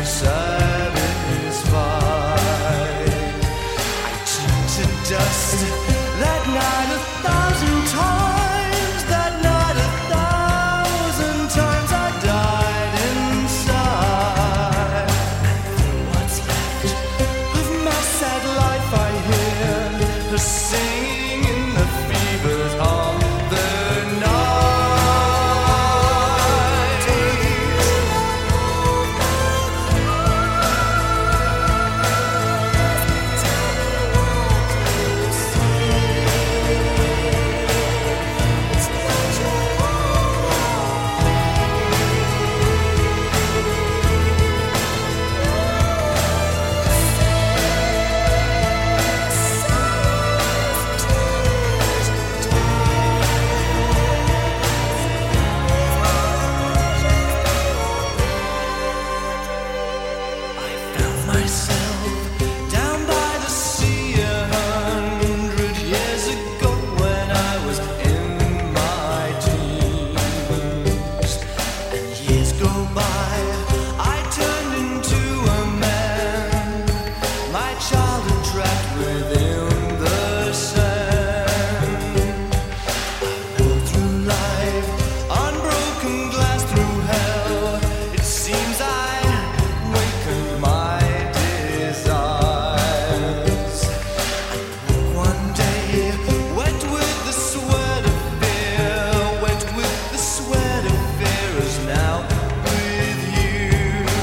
S5: satisfied. I turned to dust that night 1,000 times, that night 1,000 times I died inside. And for what's left of my sad life, I hear her singing in the fevers of the night. I found myself down by the sea 100 years ago when I was in my teens. And years go by, I turned into a man, my childhood trapped within the sand. I walk through life, unbroken glass through hell. It seems I wakened my desires. I woke one day, wet with the sweat of fear, wet with the sweat of fear, is now with you.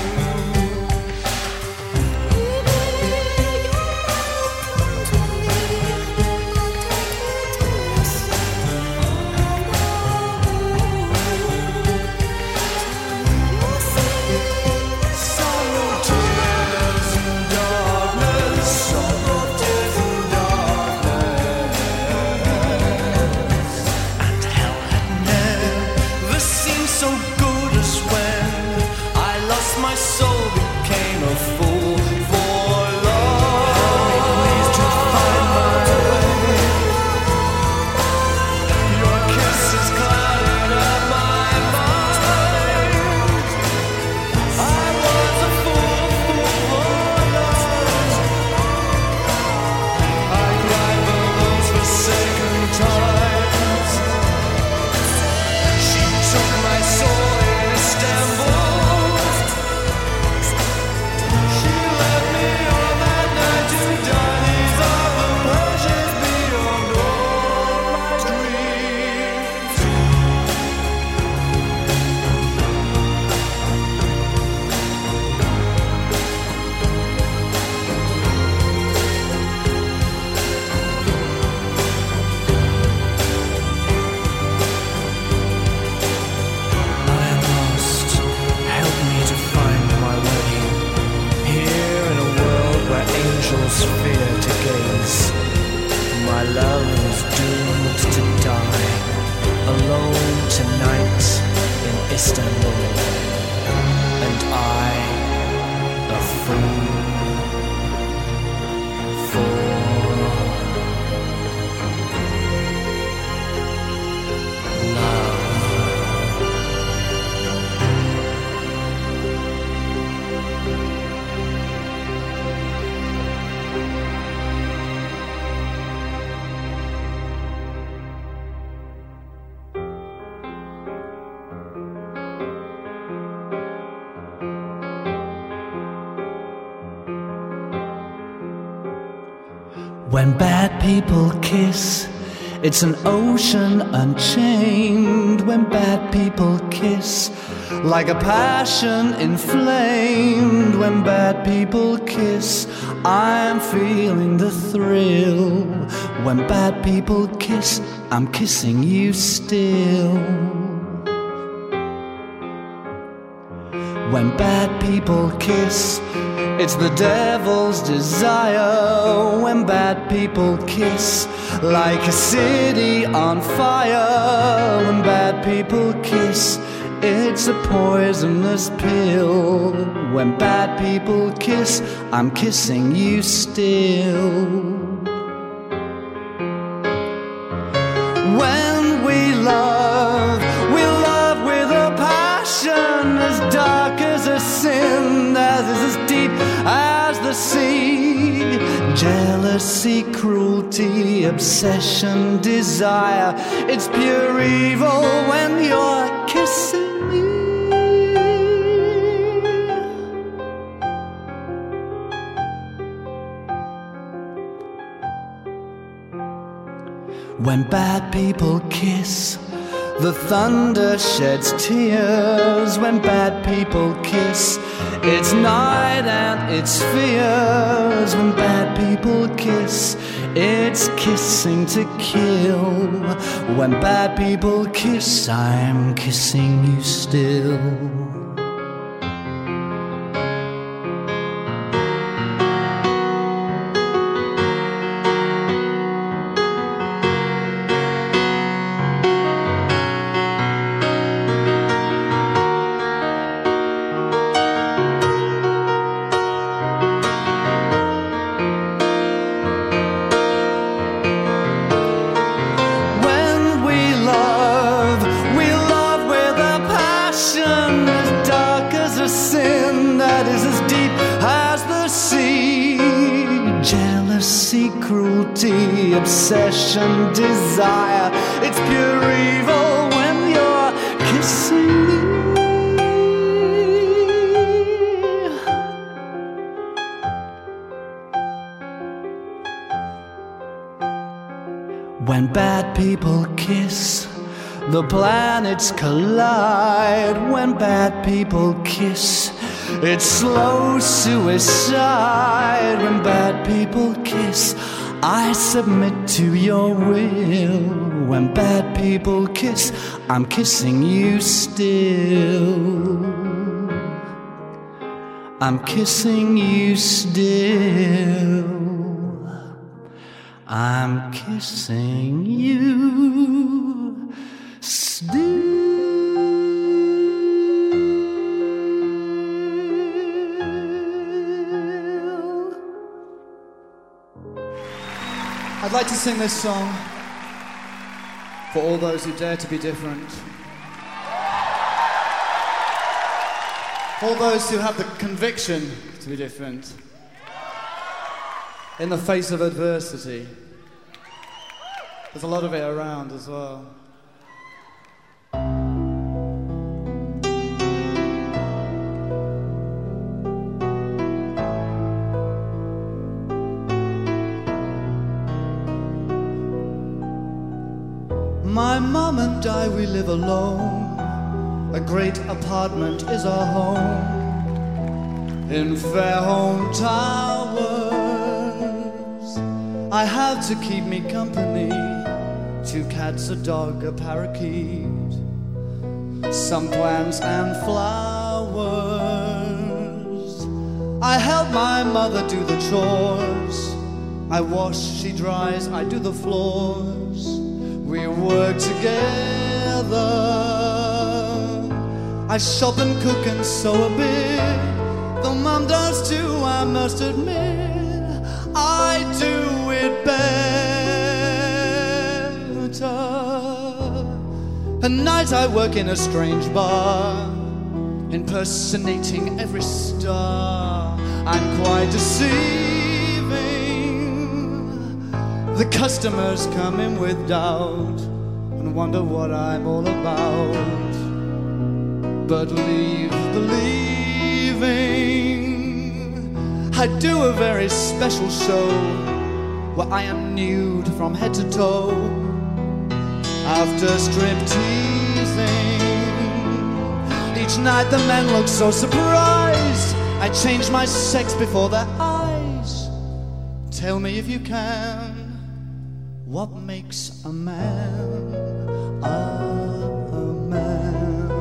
S5: Sorrow, tears, and darkness, sorrow, tears, and darkness. And hell had never seemed so good as when I lost my soul, became a fool for love. Please to find my way. Your kisses clouded up my mind. I was a fool for love. I cried for those forsaken times. She took my soul in Istanbul. She left me on that night to die. These are the pleasures beyond all my dreams. I am lost. Help me to find my way. Here in a world where angels fear to gaze, my love is doomed to die alone tonight in Istanbul, and I a fool for love.
S7: When bad people kiss
S5: It's an ocean unchained when bad people kiss, like a passion inflamed when bad people kiss. I'm feeling the thrill when bad people kiss. I'm kissing you still. When bad people kiss, it's the devil's desire. When bad people kiss, like a city on fire. When bad people kiss, it's a poisonous pill. When bad people kiss, I'm kissing you still. When we love with a passion as dark as a sin, as is as deep as the sea. Jealousy, cruelty, obsession, desire, it's pure evil when you're kissing me. When bad people kiss, the thunder sheds tears. When bad people kiss, it's night and it's fears. When bad people kiss, it's kissing to kill. When bad people kiss, I'm kissing you still. Obsession, desire, it's pure evil when you're kissing me. When bad people kiss, the planets collide. When bad people kiss, it's slow suicide. When bad people kiss, I submit to your will. When bad people kiss, I'm kissing you still. I'm kissing you still. I'm kissing you still.
S7: I'd like to sing this song for all those who dare to be different. For all those who have the conviction to be different in the face of adversity. There's a lot of it around as well.
S5: My mom and I, we live alone. A great apartment is our home in Fairholme Towers. I have to keep me company, 2 cats, a dog, a parakeet, some plants and flowers. I help my mother do the chores. I wash, she dries, I do the floors. We work together. I shop and cook and sew a bit. Though Mum does too, I must admit, I do it better. At night I work in a strange bar, impersonating every star. I'm quite deceiving. The customers come in with doubt and wonder what I'm all about. But leave believing, I do a very special show where I am nude from head to toe.
S7: after strip-teasing. Each night the men look so surprised. I change my sex before their eyes. Tell me if you can, what makes a man a man?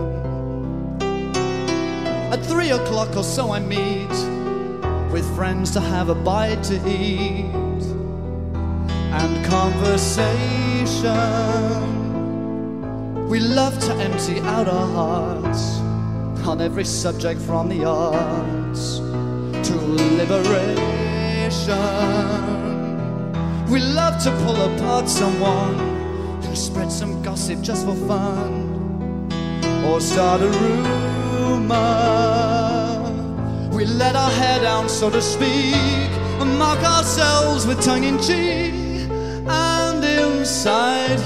S7: At 3 o'clock or so I meet with friends to have a bite to eat and conversation. We love to empty out our hearts on every subject from the arts to liberation. We love to pull apart someone and spread some gossip just for fun, or start a rumor. We let our hair down, so to speak, and mock ourselves with tongue-in-cheek and inside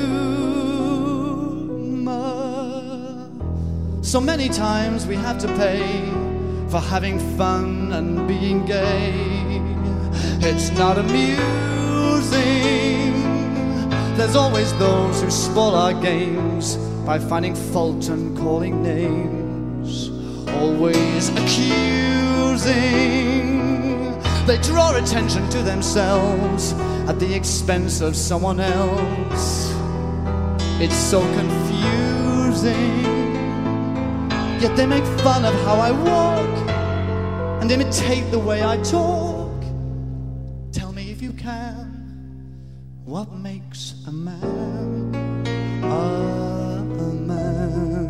S7: humor. So many times we have to pay for having fun and being gay. It's not amusing. There's always those who spoil our games by finding fault and calling names, always accusing. They draw attention to themselves at the expense of someone else. It's so confusing. Yet they make fun of how I walk and imitate the way I talk. Tell me if you can, what makes a man a man?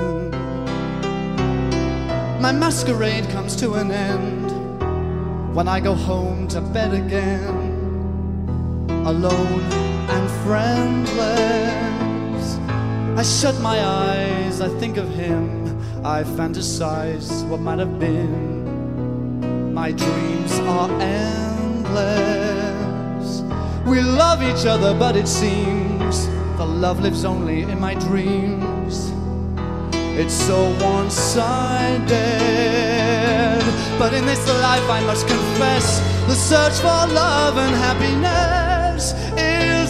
S7: My masquerade comes to an end when I go home to bed again, alone and friendless. I shut my eyes, I think of him, I fantasize what might have been. My dreams are endless. We love each other, but it seems the love lives only in my dreams. It's so one-sided, but in this life I must confess, the search for love and happiness is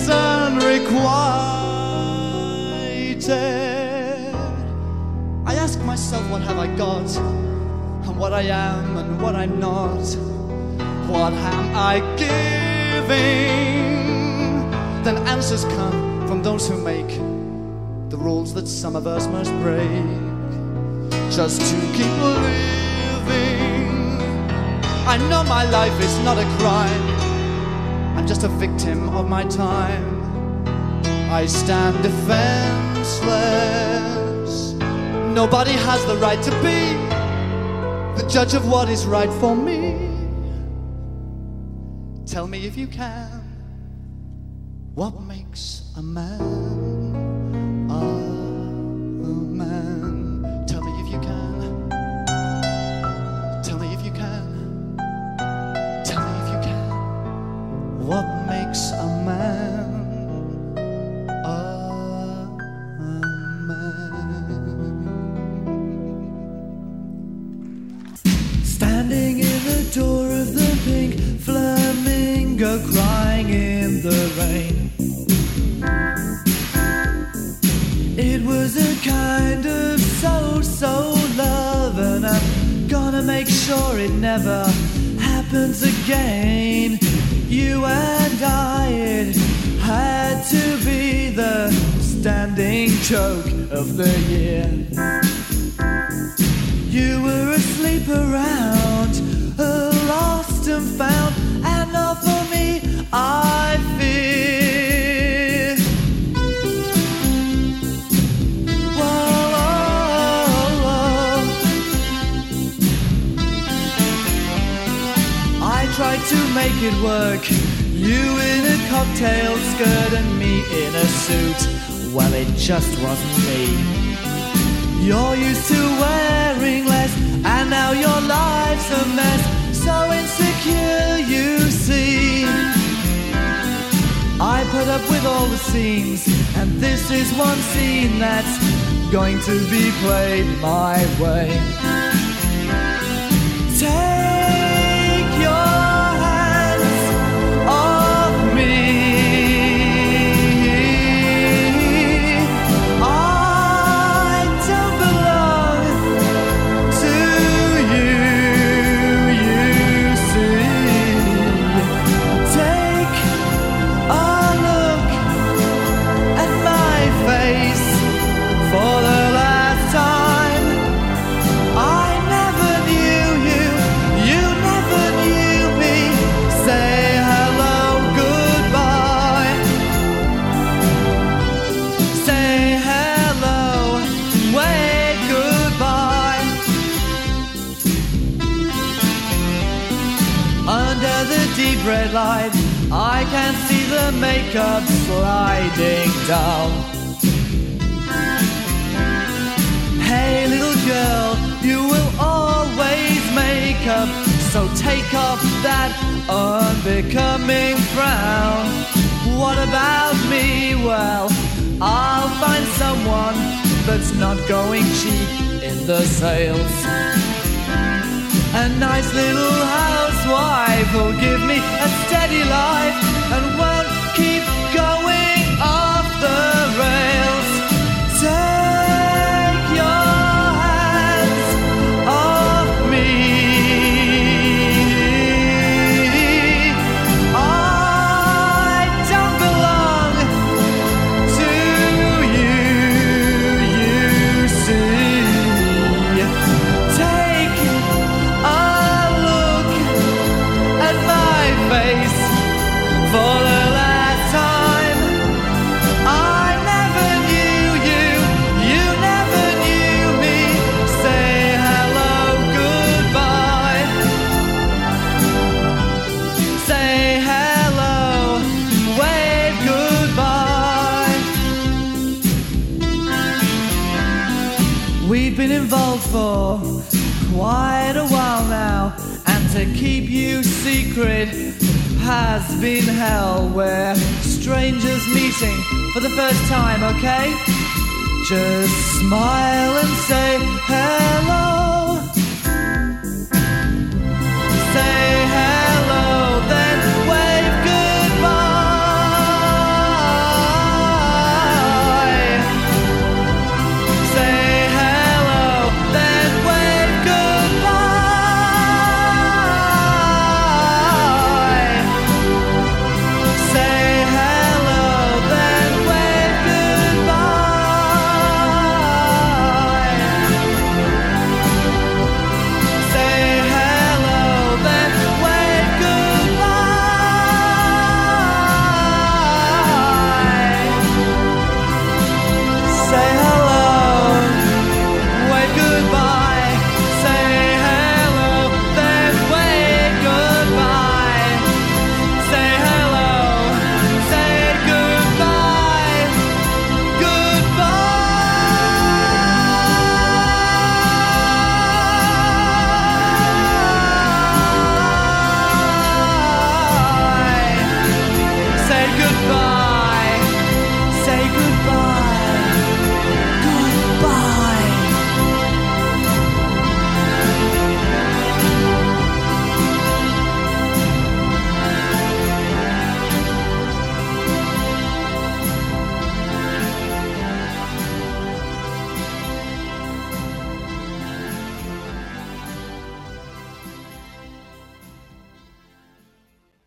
S7: unrequited. I ask myself, what have I got, and what I am and what I'm not. What am I giving? Then answers come from those who make the rules that some of us must break just to keep living. I know my life is not a crime, I'm just a victim of my time. I stand defenseless. Nobody has the right to be the judge of what is right for me. Tell me if you can, what makes a man a man? Tell me if you can. Tell me if you can. Tell me if you can. What makes a man a man? Standing in the door of the pink flamingo, crying in the rain. It was a kind of so love, and I'm gonna make sure it never happens again. You and I, it had to be the standing joke of the year. You were asleep around, lost and found, and not for me, I fear. Whoa, whoa, whoa. I tried to make it work, you in a cocktail skirt and me in a suit. Well, it just wasn't me. You're used to wearing less, and now your life's a mess. So insecure, you see. I put up with all the scenes, and this is one scene that's going to be played my way. Take your hands off me. deep red light, I can see the makeup sliding down. Hey little girl, you will always make up, so take off that unbecoming frown. What about me? Well, I'll find someone that's not going cheap in the sales. A nice little housewife will give me a steady life and won't keep going off the rails. Take your hands off me. I don't belong to you, you see. Take a look at my face for the last time. I never knew you, you never knew me. Say hello, goodbye. Say hello, wave goodbye. We've been involved for quite a while now, and to keep you secret has been hell. We're strangers meeting for the first time, okay? Just smile and say hello.